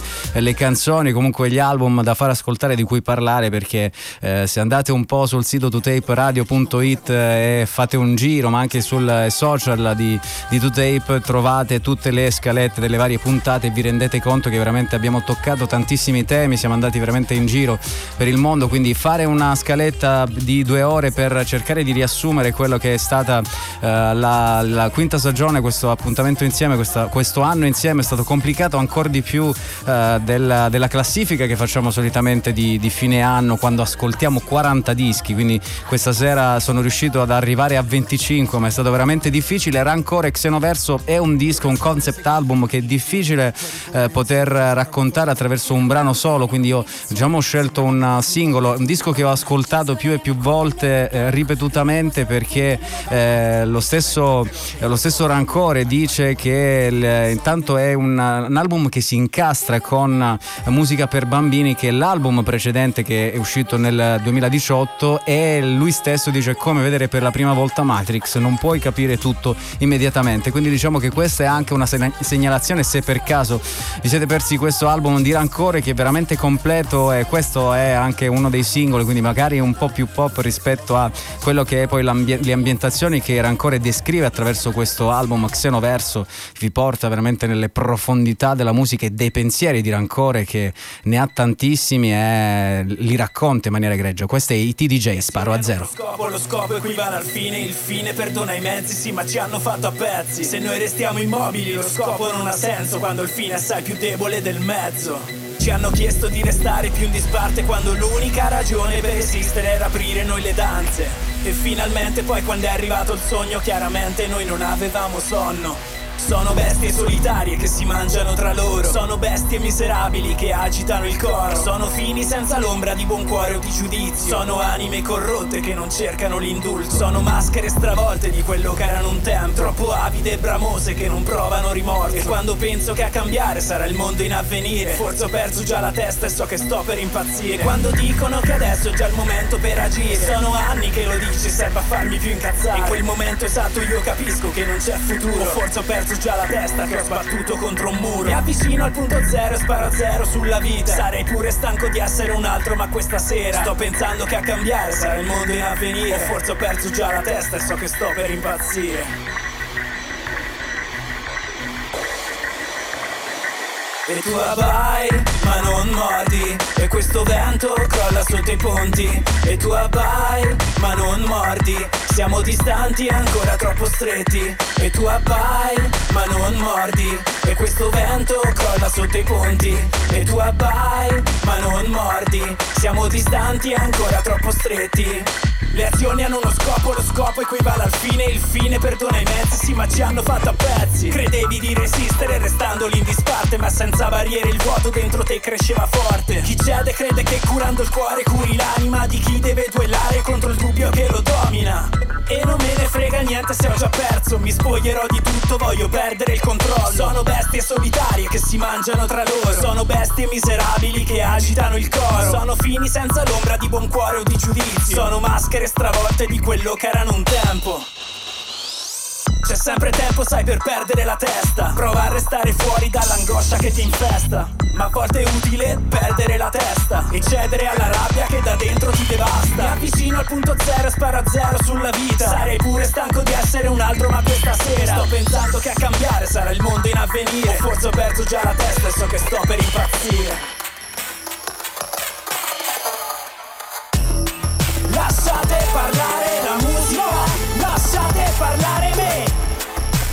le canzoni, comunque gli album da far ascoltare, di cui parlare, perché eh, se andate un po' sul sito to tape radio punto it e fate un giro, ma anche sul social di, di To Tape, trovate tutte le scalette delle varie puntate e vi rendete conto che veramente abbiamo toccato tantissimi temi, siamo andati veramente in giro per il mondo, quindi fare una scaletta di due ore per cercare di riassumere quello che è stata eh, la, la quinta stagione, questo appuntamento insieme, questa, questo anno insieme, è stato complicato ancora di più Uh, della, della classifica che facciamo solitamente di, di fine anno, quando ascoltiamo quaranta dischi, quindi questa sera sono riuscito ad arrivare a venticinque, ma è stato veramente difficile. Rancore Xenoverso è un disco, un concept album che è difficile uh, poter raccontare attraverso un brano solo, quindi io diciamo ho scelto un singolo, un disco che ho ascoltato più e più volte eh, ripetutamente, perché eh, lo stesso eh, lo stesso Rancore dice che il, intanto è un, un album che si incastra con musica per bambini, che è l'album precedente che è uscito nel duemiladiciotto, e lui stesso dice: come vedere per la prima volta Matrix, non puoi capire tutto immediatamente. Quindi diciamo che questa è anche una segnalazione, se per caso vi siete persi questo album di Rancore, che è veramente completo, e questo è anche uno dei singoli, quindi magari un po' più pop rispetto a quello che è poi le ambientazioni che Rancore descrive attraverso questo album Xenoverso. Vi porta veramente nelle profondità della musica e dei pensieri di Rancore, che ne ha tantissimi e li racconta in maniera egregia. Questo è I T D J, Sparo a Zero. Lo scopo, lo scopo equivale al fine, il fine perdona i mezzi, sì, ma ci hanno fatto a pezzi. Se noi restiamo immobili, lo scopo non ha senso, quando il fine è assai più debole del mezzo. Ci hanno chiesto di restare più in disparte, quando l'unica ragione per esistere era aprire noi le danze. E finalmente poi, quando è arrivato il sogno, chiaramente noi non avevamo sonno. Sono bestie solitarie che si mangiano tra loro, sono bestie miserabili che agitano il coro, sono fini senza l'ombra di buon cuore o di giudizio, sono anime corrotte che non cercano l'indulto, sono maschere stravolte di quello che erano un tempo, troppo avide e bramose che non provano rimorso. E quando penso che a cambiare sarà il mondo in avvenire, forse ho perso già la testa e so che sto per impazzire. Quando dicono che adesso è già il momento per agire, sono anni che lo dici, serve a farmi più incazzare. In quel momento esatto io capisco che non c'è futuro, forse ho perso già la testa che ho sbattuto contro un muro. Mi avvicino al punto zero e sparo a zero sulla vita. Sarei pure stanco di essere un altro, ma questa sera sto pensando che a cambiare sarà il mondo in avvenire. O forse ho perso già la testa e so che sto per impazzire. E tu avvai, ma non mordi, e questo vento crolla sotto i ponti. E tu avvai, ma non mordi, siamo distanti e ancora troppo stretti. E tu avvai, ma non mordi, e questo vento crolla sotto i ponti. E tu avvai, ma non mordi, siamo distanti e ancora troppo stretti. Le azioni hanno uno scopo, lo scopo equivale al fine, il fine perdona i mezzi, sì, ma ci hanno fatto a pezzi. Credevi di resistere restando lì in disparte, ma senza barriere il vuoto dentro te cresceva forte. Chi cede crede che curando il cuore curi l'anima di chi deve duellare contro il dubbio che lo domina. E non me ne frega niente se ho già perso, mi spoglierò di tutto, voglio perdere il controllo. Sono bestie solitarie che si mangiano tra loro, sono bestie miserabili che agitano il coro, sono fini senza l'ombra di buon cuore o di giudizio, sono maschere stravolte di quello che erano un tempo. C'è sempre tempo, sai, per perdere la testa, prova a restare fuori dall'angoscia che ti infesta. Ma a volte è utile perdere la testa e cedere alla rabbia che da dentro ti devasta. Mi avvicino al punto zero e sparo a zero sulla vita. Sarei pure stanco di essere un altro, ma questa sera sto pensando che a cambiare sarà il mondo in avvenire. O forse ho perso già la testa e so che sto per impazzire. Lasciate parlare la musica, lasciate parlare me.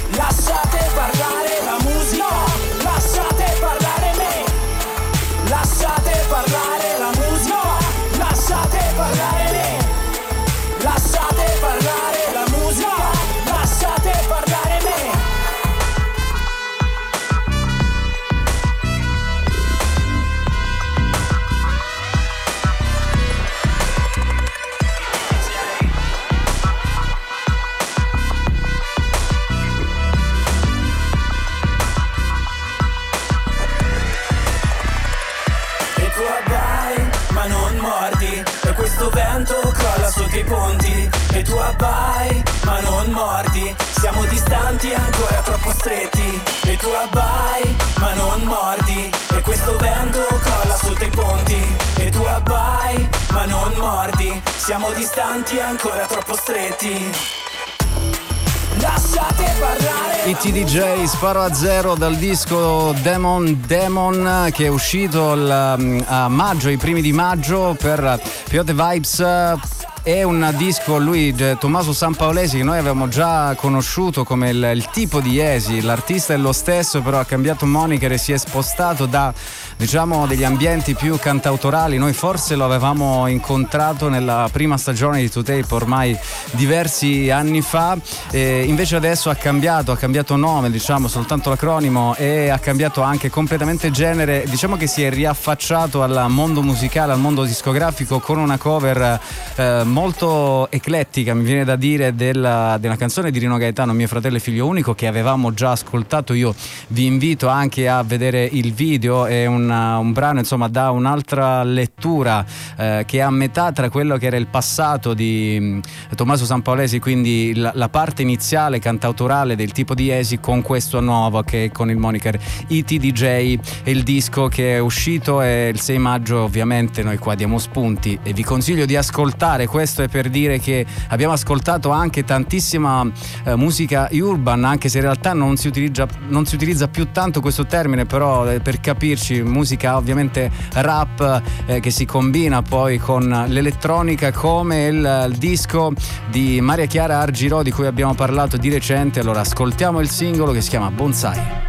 tu abbai ma non mordi, e questo vento crolla sotto i ponti. E tu abbai ma non mordi, siamo distanti ancora troppo stretti. E tu abbai ma non mordi, e questo vento crolla sotto i ponti. E tu abbai ma non mordi, siamo distanti ancora troppo stretti. Lasciate parlare. I T D J, Sparo a Zero, dal disco Demon Demon, che è uscito il, a maggio, i primi di maggio, per Piote Vibes. È un disco, lui, Tommaso Sampaolesi, che noi avevamo già conosciuto come il, il tipo di Esi. L'artista è lo stesso, però ha cambiato moniker e si è spostato da, diciamo, degli ambienti più cantautorali. Noi forse lo avevamo incontrato nella prima stagione di Two Tape ormai diversi anni fa, e invece adesso ha cambiato, ha cambiato nome, diciamo soltanto l'acronimo, e ha cambiato anche completamente genere. Diciamo che si è riaffacciato al mondo musicale, al mondo discografico, con una cover eh, molto eclettica, mi viene da dire, della, della canzone di Rino Gaetano, Mio fratello e figlio unico, che avevamo già ascoltato. Io vi invito anche a vedere il video, è una, un brano insomma da un'altra lettura, eh, che è a metà tra quello che era il passato di mh, Tommaso Sampaolesi, quindi la, la parte iniziale cantautorale del tipo di Esi, con questo nuovo che è con il moniker I T D J, e il disco che è uscito è il sei maggio. Ovviamente noi qua diamo spunti e vi consiglio di ascoltare. Questo è per dire che abbiamo ascoltato anche tantissima eh, musica urban, anche se in realtà non si utilizza, non si utilizza più tanto questo termine, però eh, per capirci, musica ovviamente rap eh, che si combina poi con l'elettronica, come il, il disco di Maria Chiara Argirò, di cui abbiamo parlato di recente. Allora ascoltiamo il singolo che si chiama Bonsai.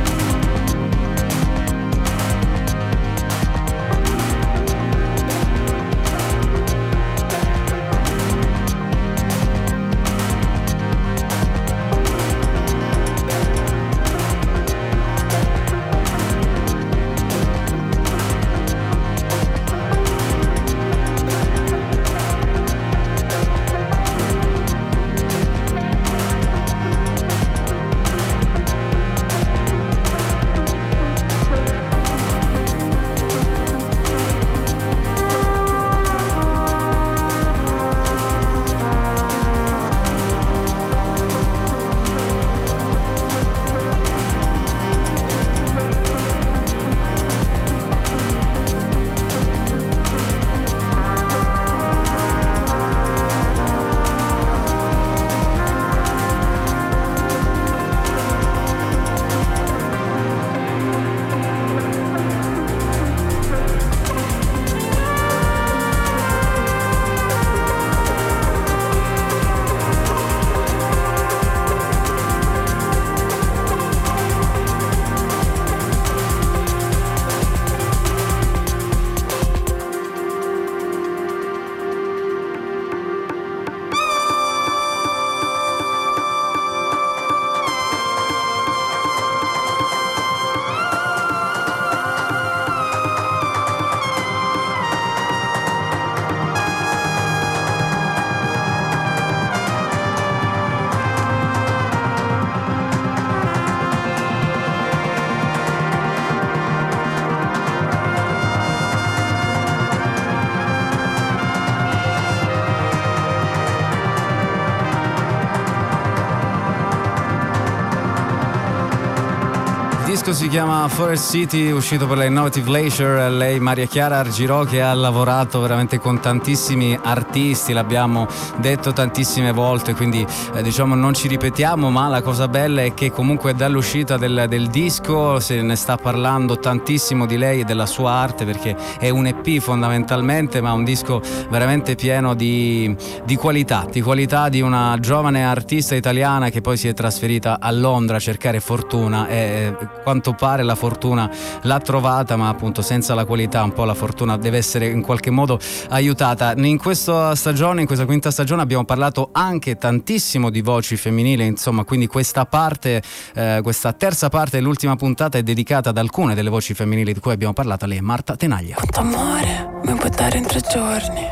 Il disco si chiama Forest City, uscito per la Innovative Leisure. Lei, Maria Chiara Argirò, che ha lavorato veramente con tantissimi artisti, l'abbiamo detto tantissime volte, quindi eh, diciamo non ci ripetiamo, ma la cosa bella è che comunque dall'uscita del, del disco se ne sta parlando tantissimo di lei e della sua arte, perché è un E P fondamentalmente, ma un disco veramente pieno di, di qualità, di qualità di una giovane artista italiana che poi si è trasferita a Londra a cercare fortuna, e quanto pare la fortuna l'ha trovata, ma appunto senza la qualità un po' la fortuna deve essere in qualche modo aiutata. In questa stagione, in questa quinta stagione, abbiamo parlato anche tantissimo di voci femminili, insomma, quindi questa parte, eh, questa terza parte dell'ultima puntata è dedicata ad alcune delle voci femminili di cui abbiamo parlato. Lei è Marta Tenaglia. Quanto amore mi puoi dare in tre giorni?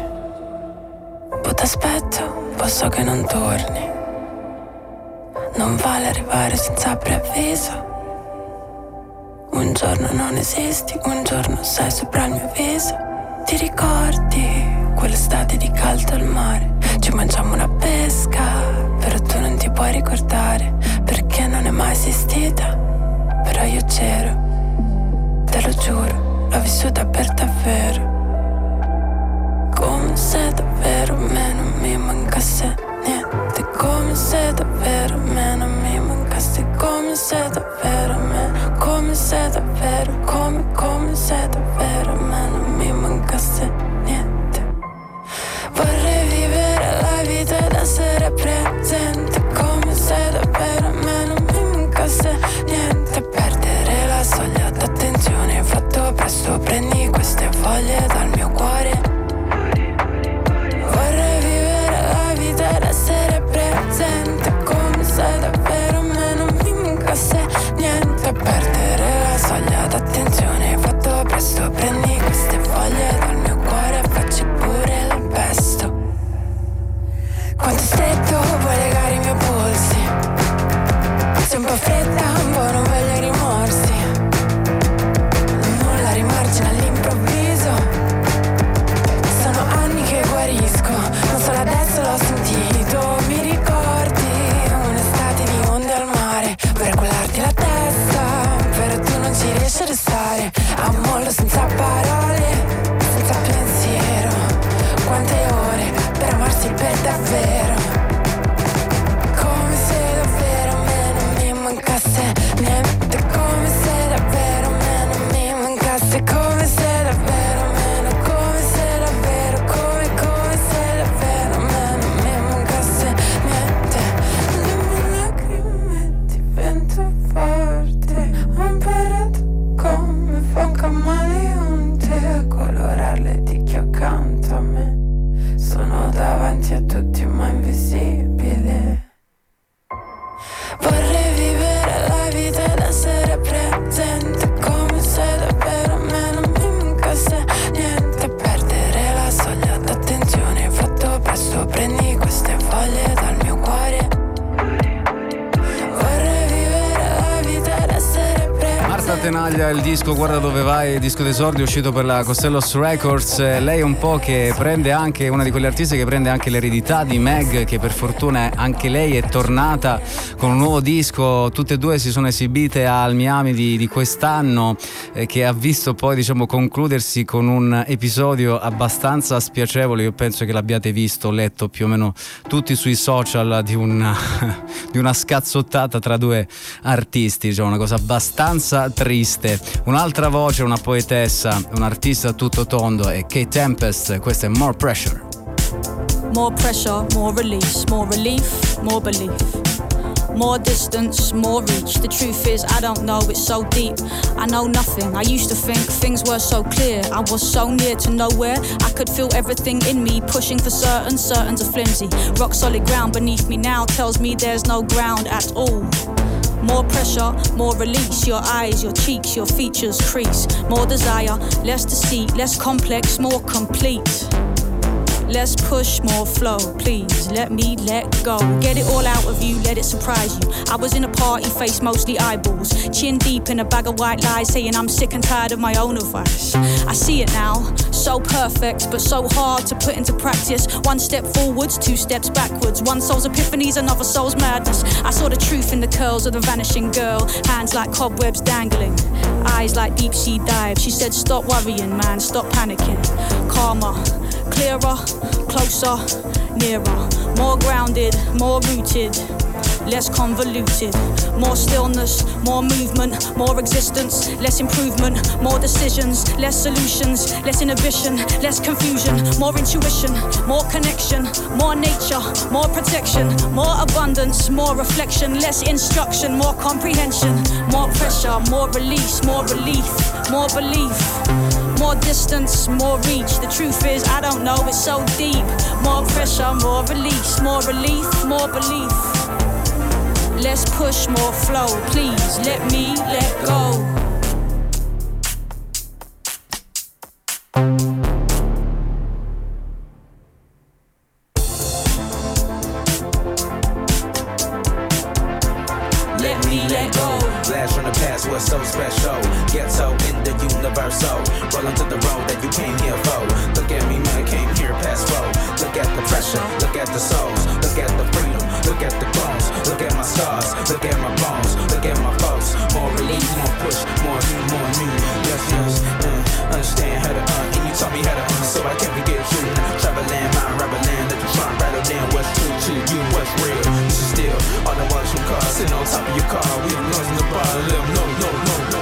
Un po' t'aspetto, un po' so che non torni. Non vale arrivare senza preavviso. Un giorno non esisti, un giorno sei sopra il mio viso. Ti ricordi quell'estate di caldo al mare? Ci mangiamo una pesca, però tu non ti puoi ricordare, perché non è mai esistita. Però io c'ero, te lo giuro, l'ho vissuta per davvero. Come se davvero a me non mi mancasse niente. Come se davvero a me non mi mancasse. Come se davvero a me, come se davvero, come, come se davvero a me non mi mancasse niente. Vorrei vivere la vita ed essere presente, come se davvero a me non mi mancasse niente. Perdere la soglia d'attenzione, fatto presto, prendi queste foglie dal mio cuore. Vorrei vivere la vita ed essere presente, come se davvero a me non mi mancasse niente. Perdere la soglia d'attenzione, fatto presto, prendi queste foglie dal mio cuore e facci pure il pesto. Quanto stretto vuoi legare i miei polsi? Sei un po' fredda, un po' non voglio rimorsi. Nulla rimargina all'improvviso. Sono anni che guarisco, non solo adesso l'ho sentito. Mi ricordi un'estate di onde al mare? Vorrei quellarti la testa, però tu non ci riesci a restare. A mollo senza parole, senza pensiero. Quante ore per amarsi per davvero. Come se davvero a me non mi mancasse niente. Come se davvero a me non mi mancasse. Come se davvero a me non, come se davvero, come, come se davvero a me non mi mancasse niente. Le mie lacrime divento forte. Ho imparato come fa un camaleonte a colorarle di chi accanto a me. Sono davanti a tutti ma invisibile. Vorrei vivere la vita ed essere presente, come se davvero a me non mi mancasse niente. Perdere la soglia d'attenzione, fatto presto, prendi queste foglie dal mio cuore. Vorrei vivere la vita ed essere presente. Marta Tenaglia, il disco Guarda dove vai, il disco d'esordio uscito per la Costellos Records. Lei è un po' che prende anche, una di quelle artiste che prende anche l'eredità di Meg, che per fortuna anche lei è tornata con un nuovo disco. Tutte e due si sono esibite al Miami di, di quest'anno, eh, che ha visto poi diciamo concludersi con un episodio abbastanza spiacevole. Io penso che l'abbiate visto, letto più o meno tutti sui social, di una, di una scazzottata tra due artisti, diciamo una cosa abbastanza triste. Un'altra voce, una poetessa, un artista a tutto tondo è Kate Tempest. Questa è More Pressure. More pressure, more release, more relief, more belief. More distance, more reach. The truth is, I don't know, it's so deep. I know nothing. I used to think things were so clear. I was so near to nowhere. I could feel everything in me pushing for certain, certain's are flimsy. Rock solid ground beneath me now tells me there's no ground at all. More pressure, more release. Your eyes, your cheeks, your features crease. More desire, less deceit, less complex, more complete. Less push, more flow, please let me let go. Get it all out of you, let it surprise you. I was in a party, face mostly eyeballs, chin deep in a bag of white lies, saying I'm sick and tired of my own advice. I see it now, so perfect, but so hard to put into practice. One step forwards, two steps backwards. One soul's epiphanies, another soul's madness. I saw the truth in the curls of the vanishing girl. Hands like cobwebs dangling, eyes like deep sea dives. She said stop worrying man, stop panicking. Calmer, clearer, closer, nearer. More grounded, more rooted, less convoluted. More stillness, more movement, more existence, less improvement. More decisions, less solutions, less inhibition, less confusion. More intuition, more connection, more nature, more protection. More abundance, more reflection, less instruction, more comprehension. More pressure, more release, more relief, more belief. More distance, more reach. The truth is, I don't know, it's so deep. More pressure, more release, more relief, more belief. Less push, more flow. Please let me let go. Let me let go. Blast from the past, what's so special? road that you came here for. Look at me, man, I came here past road. Look at the pressure, look at the souls, look at the freedom, look at the bones, look at my scars, look at my bones, look at my folks. More relief, more push, more you, more me. Yes, yes, uh, understand how to uh, and you taught me how to uh, so I can't forget you. Travel land, mind, rubber land, let the trunk rattle down what's true to you, what's real. This is still all the watch from cars, sitting on top of your car. We the ones in the bar, let them know, no, no, no.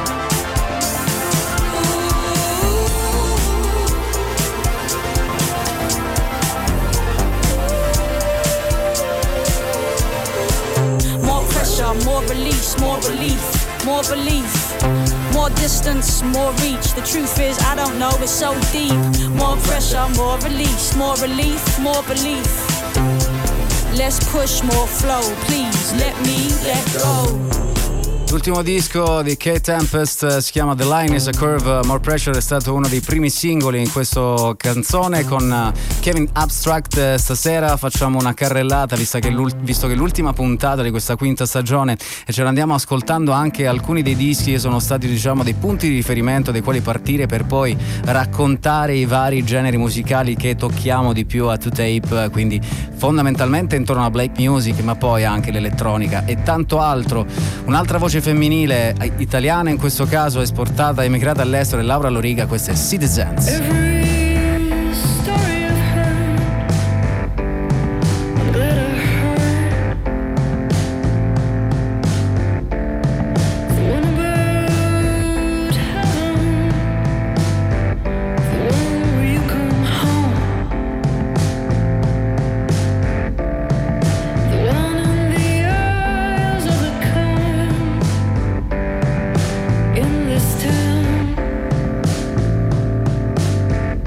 More release, more relief, more belief, more distance, more reach. The truth is, I don't know, it's so deep. More pressure, more release, more relief, more belief. Less push, more flow. Please let me let go. L'ultimo disco di Kate Tempest si chiama The Line is a Curve. More Pressure è stato uno dei primi singoli in questa canzone con Kevin Abstract. Stasera facciamo una carrellata visto che, visto che è l'ultima puntata di questa quinta stagione e ce l'andiamo ascoltando anche alcuni dei dischi che sono stati, diciamo, dei punti di riferimento dai quali partire per poi raccontare i vari generi musicali che tocchiamo di più a To Tape, quindi fondamentalmente intorno a black music, ma poi anche l'elettronica e tanto altro. Un'altra voce femminile italiana in questo caso, esportata, emigrata all'estero, è Laura Loriga. Questa è Citizens. In this town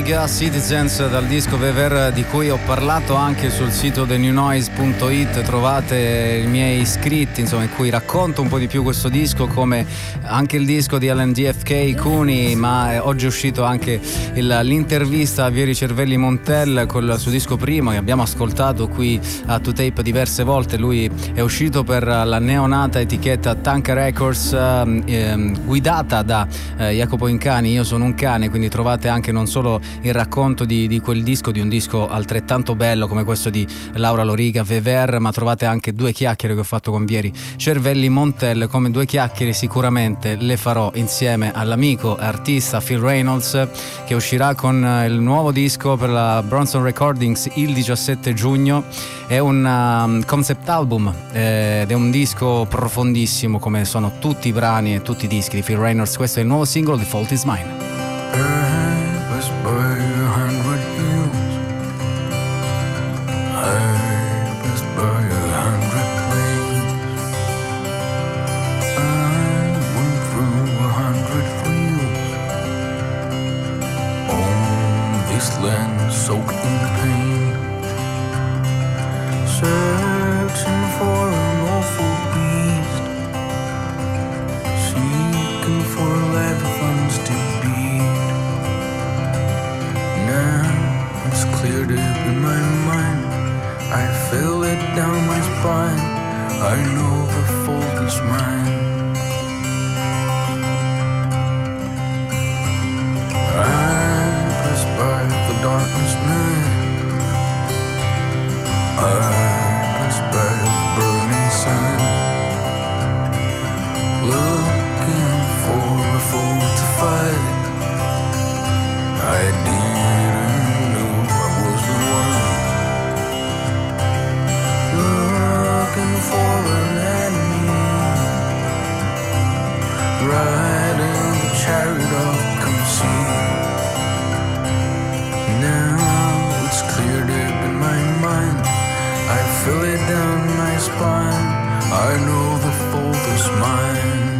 Loriga, Citizens, dal disco Vever di cui ho parlato anche sul sito the new noise punto it. Trovate i miei scritti, insomma, in cui racconto un po' di più questo disco, come anche il disco di L D F K Kuni, ma oggi è uscito anche il, l'intervista a Vieri Cervelli Montel col suo disco primo, che abbiamo ascoltato qui a To Tape diverse volte. Lui è uscito per la neonata etichetta Tanka Records, eh, guidata da eh, Jacopo Incani. Io sono un cane, quindi trovate anche non solo il racconto di, di quel disco, di un disco altrettanto bello come questo di Laura Loriga, Vever, ma trovate anche due chiacchiere che ho fatto con Vieri Cervelli Montel. Come due chiacchiere sicuramente le farò insieme all'amico artista Phil Reynolds, che uscirà con il nuovo disco per la Bronson Recordings il diciassette giugno. È un um, concept album eh, ed è un disco profondissimo, come sono tutti i brani e tutti i dischi di Phil Reynolds. Questo è il nuovo singolo di Fault Is Mine. Soaked in pain, searching for an awful beast, seeking for leviathans to beat. Now it's cleared up in my mind, I feel it down my spine, I know the fault is mine. Darkness night, I pass by the burning sun, looking for a foe to fight. I didn't know I was the one, looking for an enemy, riding the chariot of conceit. Now it's cleared up in my mind, I feel it down my spine, I know the fault is mine.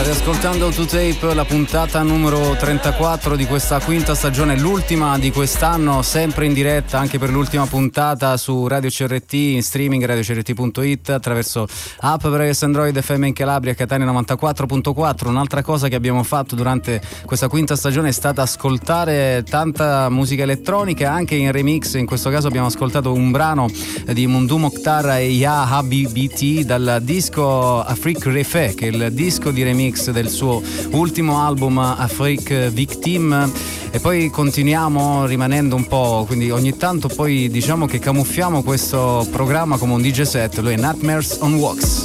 riascoltando To Tape, la puntata numero trentaquattro di questa quinta stagione, l'ultima di quest'anno, sempre in diretta anche per l'ultima puntata su Radio C R T, in streaming radio c r t punto i t, attraverso app per iOS, Android, F M in Calabria, Catania novantaquattro virgola quattro. Un'altra cosa che abbiamo fatto durante questa quinta stagione è stata ascoltare tanta musica elettronica, anche in remix. In questo caso abbiamo ascoltato un brano di Mundou Mokhtar e Ya Habibi dal disco Afrique Refait, che è il disco di remix del suo ultimo album Afrique Victime. E poi continuiamo rimanendo un po', quindi ogni tanto poi diciamo che camuffiamo questo programma come un D J set. Lui è Nightmares on Wax.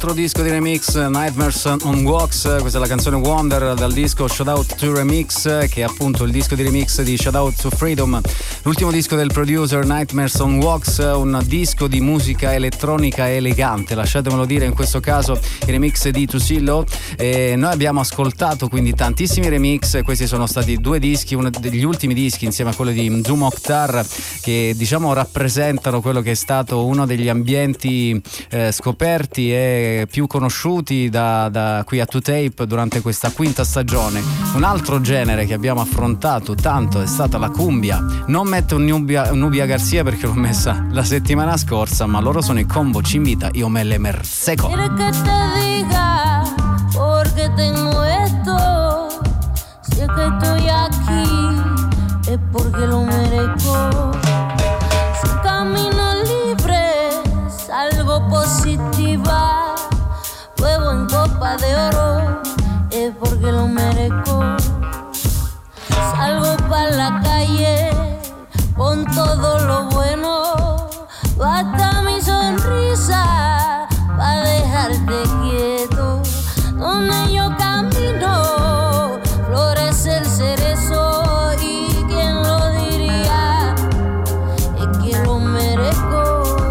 altro disco di remix, Nightmares on Walks, questa è la canzone Wonder dal disco Shout Out to Remix, che è appunto il disco di remix di Shout Out to Freedom, l'ultimo disco del producer Nightmares on Walks, un disco di musica elettronica elegante, lasciatemelo dire, in questo caso i remix di Tusillo. E noi abbiamo ascoltato quindi tantissimi remix, questi sono stati due dischi, uno degli ultimi dischi insieme a quello di Zoom Oktar, che diciamo rappresentano quello che è stato uno degli ambienti eh, scoperti e più conosciuti da, da qui a To Tape durante questa quinta stagione. Un altro genere che abbiamo affrontato tanto è stata la cumbia. Non metto Nubia, Nubia Garcia perché l'ho messa la settimana scorsa, ma loro sono i Combo Chimbita, Io me le merseco. ¿Quieres que te diga por qué tengo esto? Si es que estoy aquí es porque lo merezco. Sin camino libre salgo positiva, huevo en copa de oro es porque lo merezco. Salgo pa' la calle con todo lo bueno, basta mi sonrisa pa' dejarte quieto. Donde yo camino florece el cerezo y quién lo diría, es que lo merezco.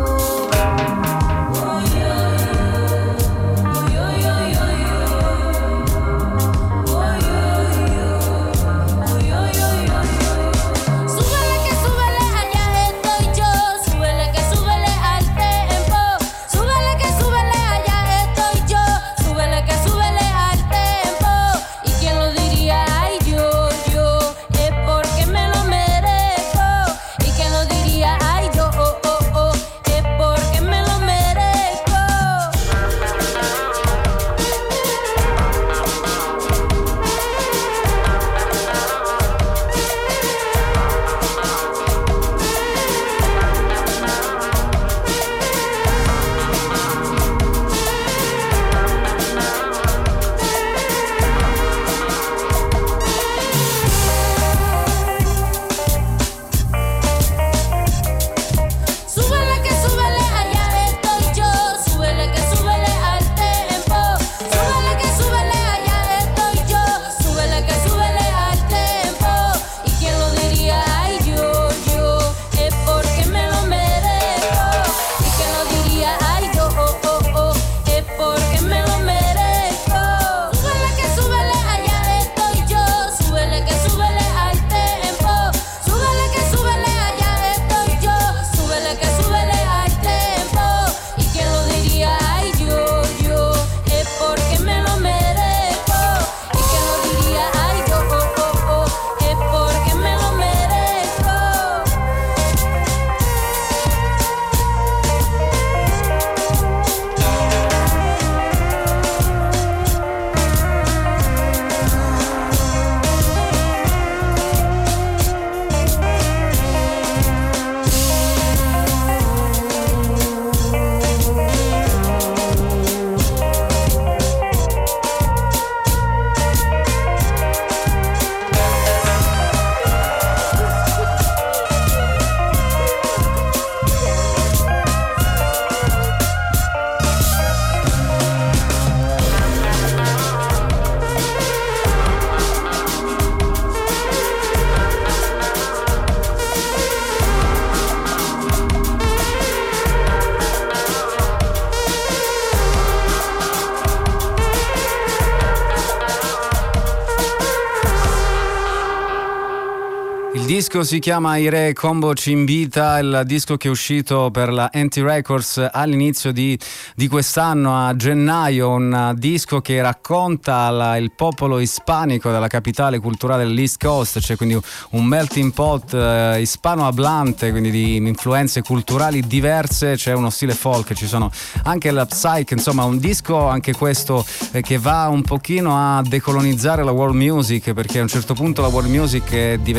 Il disco si chiama I Re Combo Chimbita, il disco che è uscito per la Anti Records all'inizio di, di quest'anno, a gennaio, un disco che racconta la, il popolo ispanico della capitale culturale dell'East Coast, cioè quindi un melting pot eh, ispanohablante, quindi di influenze culturali diverse, c'è uno stile folk, ci sono anche la psych, insomma un disco anche questo eh, che va un pochino a decolonizzare la world music, perché a un certo punto la world music è diventata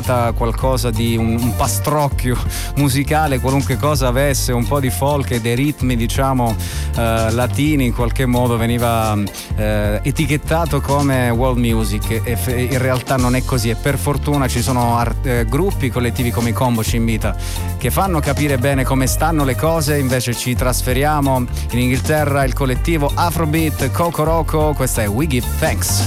diventata qualcosa di un, un pastrocchio musicale, qualunque cosa avesse un po' di folk e dei ritmi diciamo eh, latini, in qualche modo veniva eh, etichettato come world music, e f- in realtà non è così, e per fortuna ci sono art- eh, gruppi, collettivi come i Combo Cimbita che fanno capire bene come stanno le cose. Invece ci trasferiamo in Inghilterra, il collettivo Afrobeat Coco Roco, questa è We Give Thanks.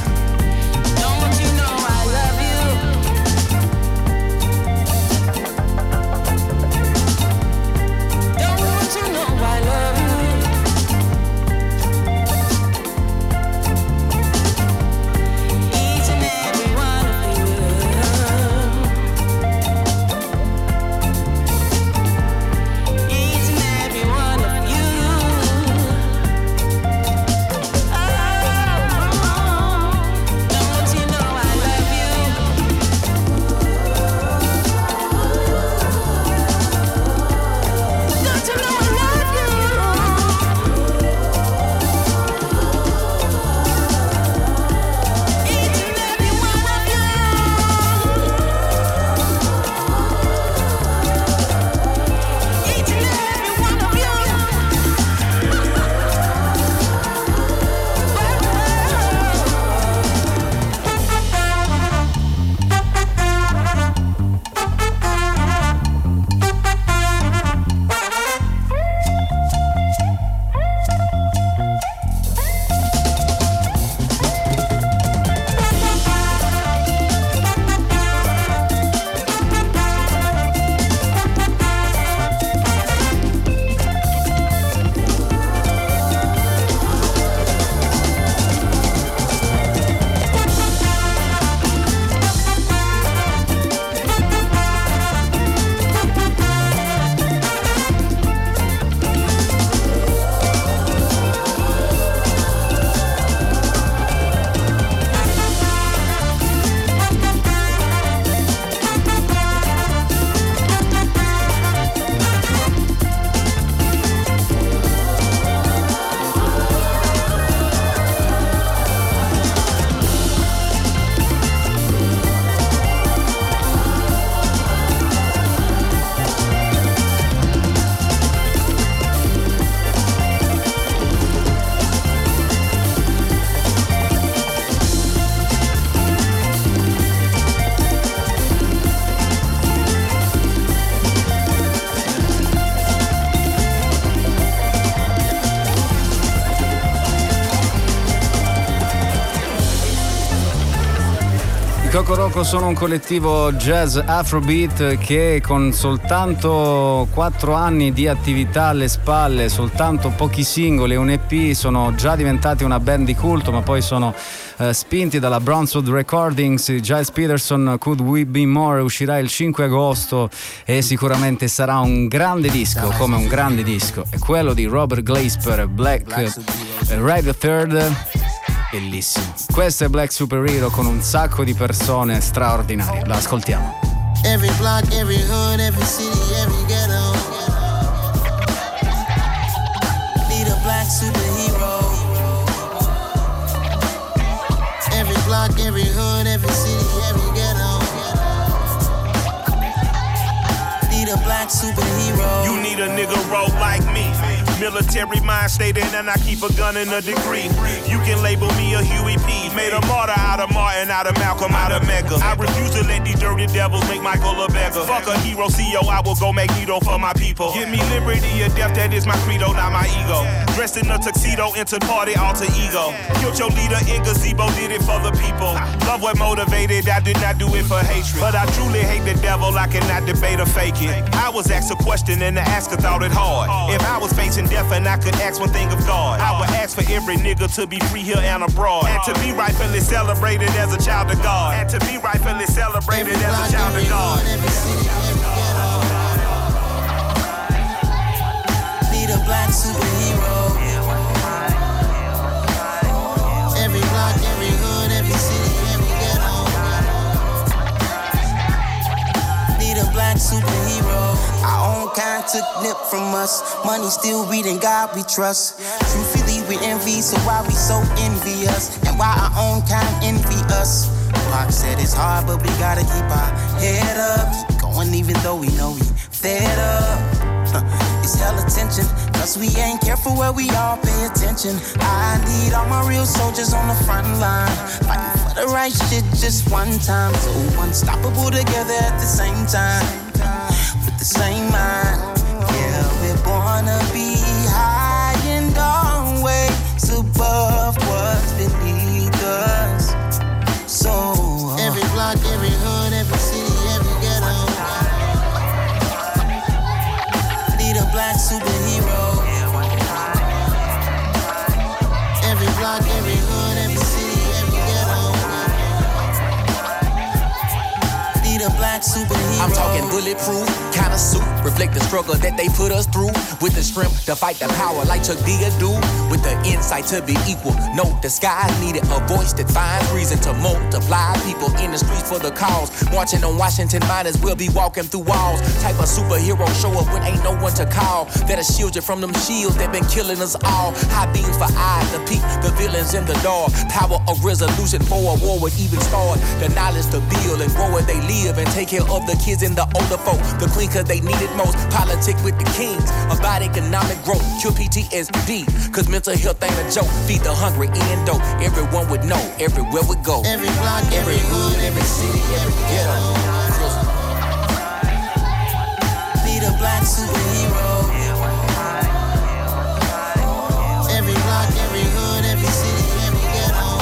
Coco Roco sono un collettivo jazz afrobeat che con soltanto quattro anni di attività alle spalle, soltanto pochi singoli e un E P, sono già diventati una band di culto, ma poi sono eh, spinti dalla Brownswood Recordings. Giles Peterson, Could We Be More, uscirà il cinque agosto e sicuramente sarà un grande disco, come un grande disco. È quello di Robert Glasper, Black eh, Right Third. Bellissimo. Questo è Black Superhero con un sacco di persone straordinarie. La ascoltiamo. Every block, every hood, every city, every ghetto. Need a black superhero. Every block, every hood, every city, every ghetto. Need a black superhero. You need a nigga roll like me. Military mind stated, and I keep a gun and a degree. You can label me a Huey P. Made a martyr out of Martin, out of Malcolm, out of Mega. I refuse to let these dirty devils make Michael a beggar. Fuck a hero C E O, I will go Magneto for my people. Give me liberty or death, that is my credo, not my ego. Dressed in a tuxedo, into party, alter ego. Killed your leader in gazebo, did it for the people. Love what motivated, I did not do it for hatred. But I truly hate the devil, I cannot debate or fake it. I was asked a question and the asker thought it hard. If I was facing death and I could ask one thing of God, I would ask for every nigga to be free here and abroad, and to be rightfully celebrated as a child of God, and to be rightfully celebrated as a child of God. Need a black superhero. Every block, every hood, every city, every ghetto. Need a black superhero. Our own kind took nip from us. Money still reading God we trust. Truthfully we envy, so why we so envious? And why our own kind envy us? Pac said it's hard, but we gotta keep our head up, keep going even though we know we fed up. Huh, it's hella tension, cause we ain't careful where we all pay attention. I need all my real soldiers on the front line, fighting for the right shit just one time. So unstoppable together at the same time, with the same mind. Yeah, we're born to be high and always above what's beneath us. So uh, every block, every hood, every city, every ghetto need a black superhero. Every block, every hood, every city, every ghetto need a black superhero. I'm talking bulletproof kind of suit, reflect the struggle that they put us through, with the strength to fight the power like Chuck D do, with the insight to be equal. No disguise needed, a voice that finds reason to multiply. People in the streets for the cause, marching on Washington, might as well be walking through walls. Type of superhero show up when ain't no one to call, that'll shield you from them shields that been killing us all. High beams for eyes to peek the villains in the dark. Power of resolution for a war would even start. The knowledge to build and grow where they live and take care of the kids and the older folk. The queen cause they need it most. Politic with the kings about economic growth. Cure P T S D cause mental health ain't a joke. Feed the hungry and dope. Everyone would know everywhere we go. Every block, every hood, every city, every ghetto need a black superhero. Every block, every hood, every city, every ghetto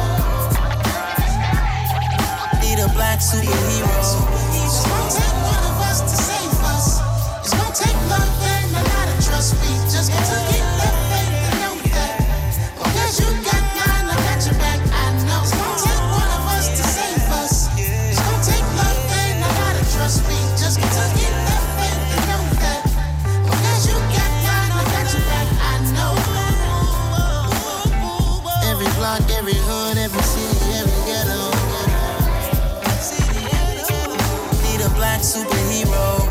need a black superhero. It's gonna take one of us to save us. It's gonna take love and a lot of trust. We just got to get that faith and know that. Because you got mine, I got your back, I know. It's gonna take one of us to save us. It's gonna take love and a lot of trust. We just got to get that faith and know that. Because you got mine, I got your back, I know. Every block, every hood, every city, every ghetto need a black superhero.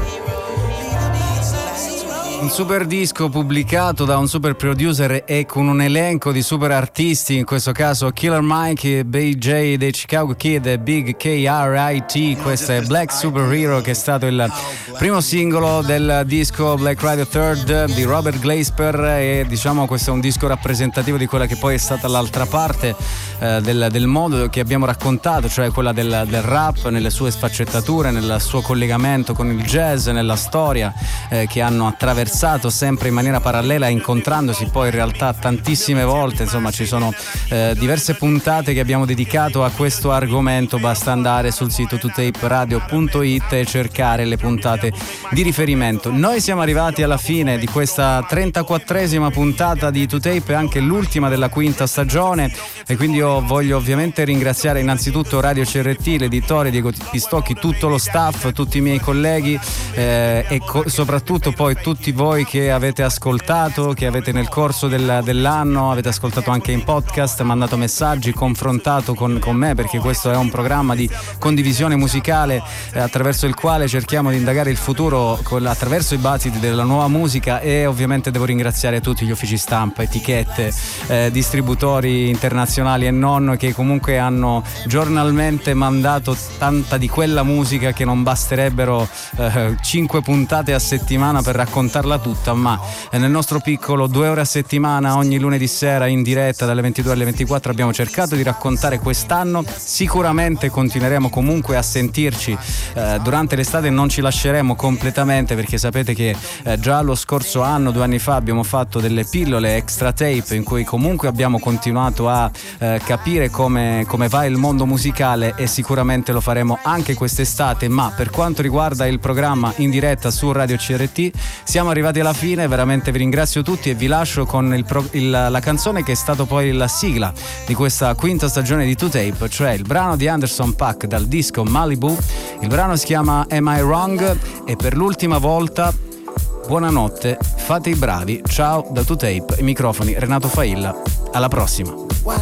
Un super disco pubblicato da un super producer e con un elenco di super artisti, in questo caso Killer Mike, B J dei Chicago Kid e Big K R I T. Questo è Black Superhero, che è stato il primo singolo del disco Black Radio Third di Robert Glasper, e diciamo questo è un disco rappresentativo di quella che poi è stata l'altra parte eh, del, del modo che abbiamo raccontato, cioè quella del, del rap nelle sue sfaccettature, nel suo collegamento con il jazz, nella storia eh, che hanno attraversato sempre in maniera parallela, incontrandosi poi in realtà tantissime volte. Insomma, ci sono eh, diverse puntate che abbiamo dedicato a questo argomento. Basta andare sul sito two tape radio punto it e cercare le puntate di riferimento. Noi siamo arrivati alla fine di questa trentaquattresima puntata di two tape, anche l'ultima della quinta stagione, e quindi io voglio ovviamente ringraziare innanzitutto Radio C R T, l'editore Diego Pistocchi, tutto lo staff, tutti i miei colleghi eh, e co- soprattutto poi tutti voi che avete ascoltato, che avete nel corso del, dell'anno avete ascoltato anche in podcast, mandato messaggi, confrontato con, con me, perché questo è un programma di condivisione musicale eh, attraverso il quale cerchiamo di indagare il futuro con, attraverso i battiti della nuova musica. E ovviamente devo ringraziare tutti gli uffici stampa, etichette, eh, distributori internazionali e non, che comunque hanno giornalmente mandato tanta di quella musica che non basterebbero eh, cinque puntate a settimana per raccontarla tutta, ma nel nostro piccolo due ore a settimana ogni lunedì sera in diretta dalle ventidue alle ventiquattro abbiamo cercato di raccontare quest'anno. Sicuramente continueremo comunque a sentirci eh, durante l'estate, non ci lasceremo completamente, perché sapete che eh, già lo scorso anno, due anni fa, abbiamo fatto delle pillole extra tape in cui comunque abbiamo continuato a eh, capire come, come va il mondo musicale, e sicuramente lo faremo anche quest'estate. Ma per quanto riguarda il programma in diretta su Radio C R T siamo arrivati alla fine. Veramente vi ringrazio tutti e vi lascio con il pro, il, la canzone che è stato poi la sigla di questa quinta stagione di two tape, cioè il brano di Anderson .Paak dal disco Malibu. Il brano si chiama Am I Wrong, e per l'ultima volta buonanotte, fate i bravi, ciao da two tape, i microfoni Renato Failla, alla prossima.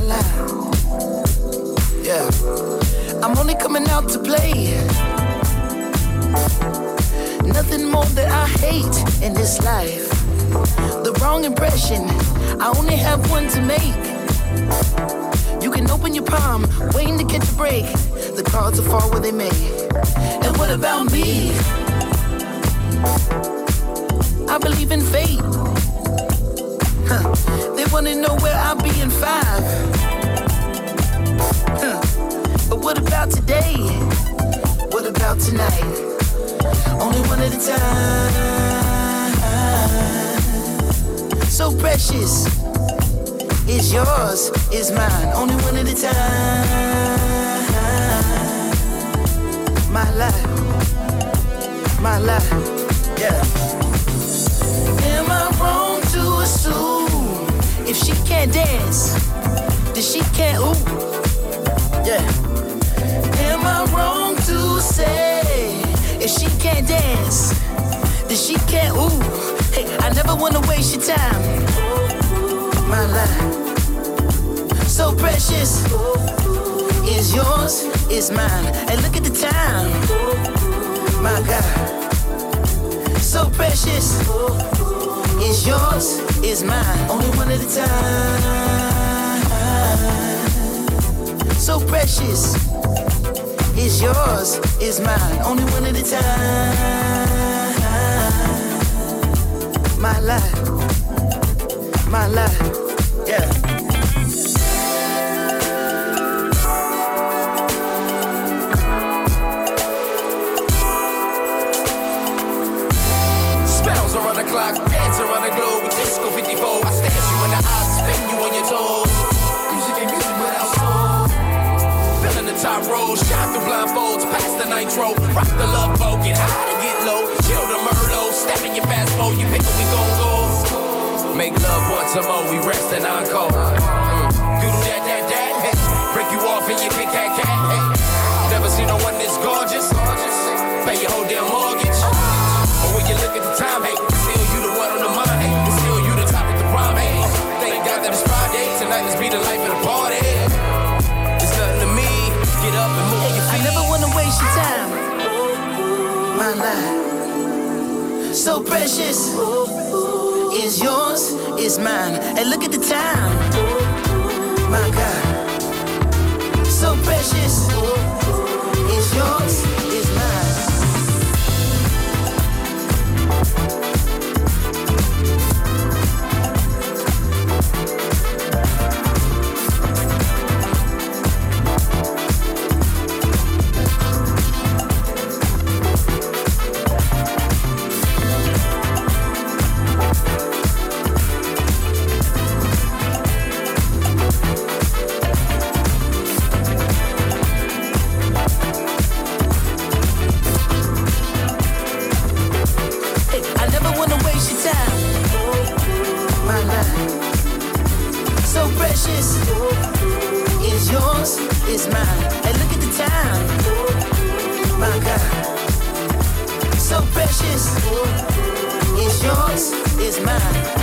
Yeah. I'm only coming out to play. Nothing more that I hate in this life. The wrong impression, I only have one to make. You can open your palm, waiting to catch a break. the cards will fall where they may. And what about me? I believe in fate. Huh. They wanna know where I'll be in five. Huh. But what about today? What about tonight? Only one at a time. So precious. It's yours, it's mine. Only one at a time. My life. My life. Yeah. Am I wrong to assume if she can't dance, then she can't ooh? Yeah. Am I wrong to say if she can't dance, then she can't ooh? Hey, I never wanna waste your time. My life, so precious, is yours, is mine. And look at the time. My God. So precious, is yours, is mine. Only one at a time. So precious, is yours, is mine. Only one at a time. My life, my life, yeah. Clock, dance around the globe with Disco fifty-four. I stare you in the eyes, spin you on your toes. Music and music without soul. Filling the top row, shine through blindfolds, pass the nitro, rock the love boat, get high and get low, chill the Merlot, step in your fast mode, you pick up, we gon' go. Make love once or more, we rest and encore. Mm. Do that, that, that, hey. Break you off and you kick that cat. Hey. Never seen no one this gorgeous. Pay your whole damn mortgage. But when you look at the time, hey. Tonight, let's be the life of the party. It's nothing to me. Get up and move your feet. I never wanna waste your time. My life, so precious, is yours, is mine. And look at the time. My God, so precious, is yours, is mine. Is yours, is mine. And look at the time. My God, so precious. Is yours, is mine.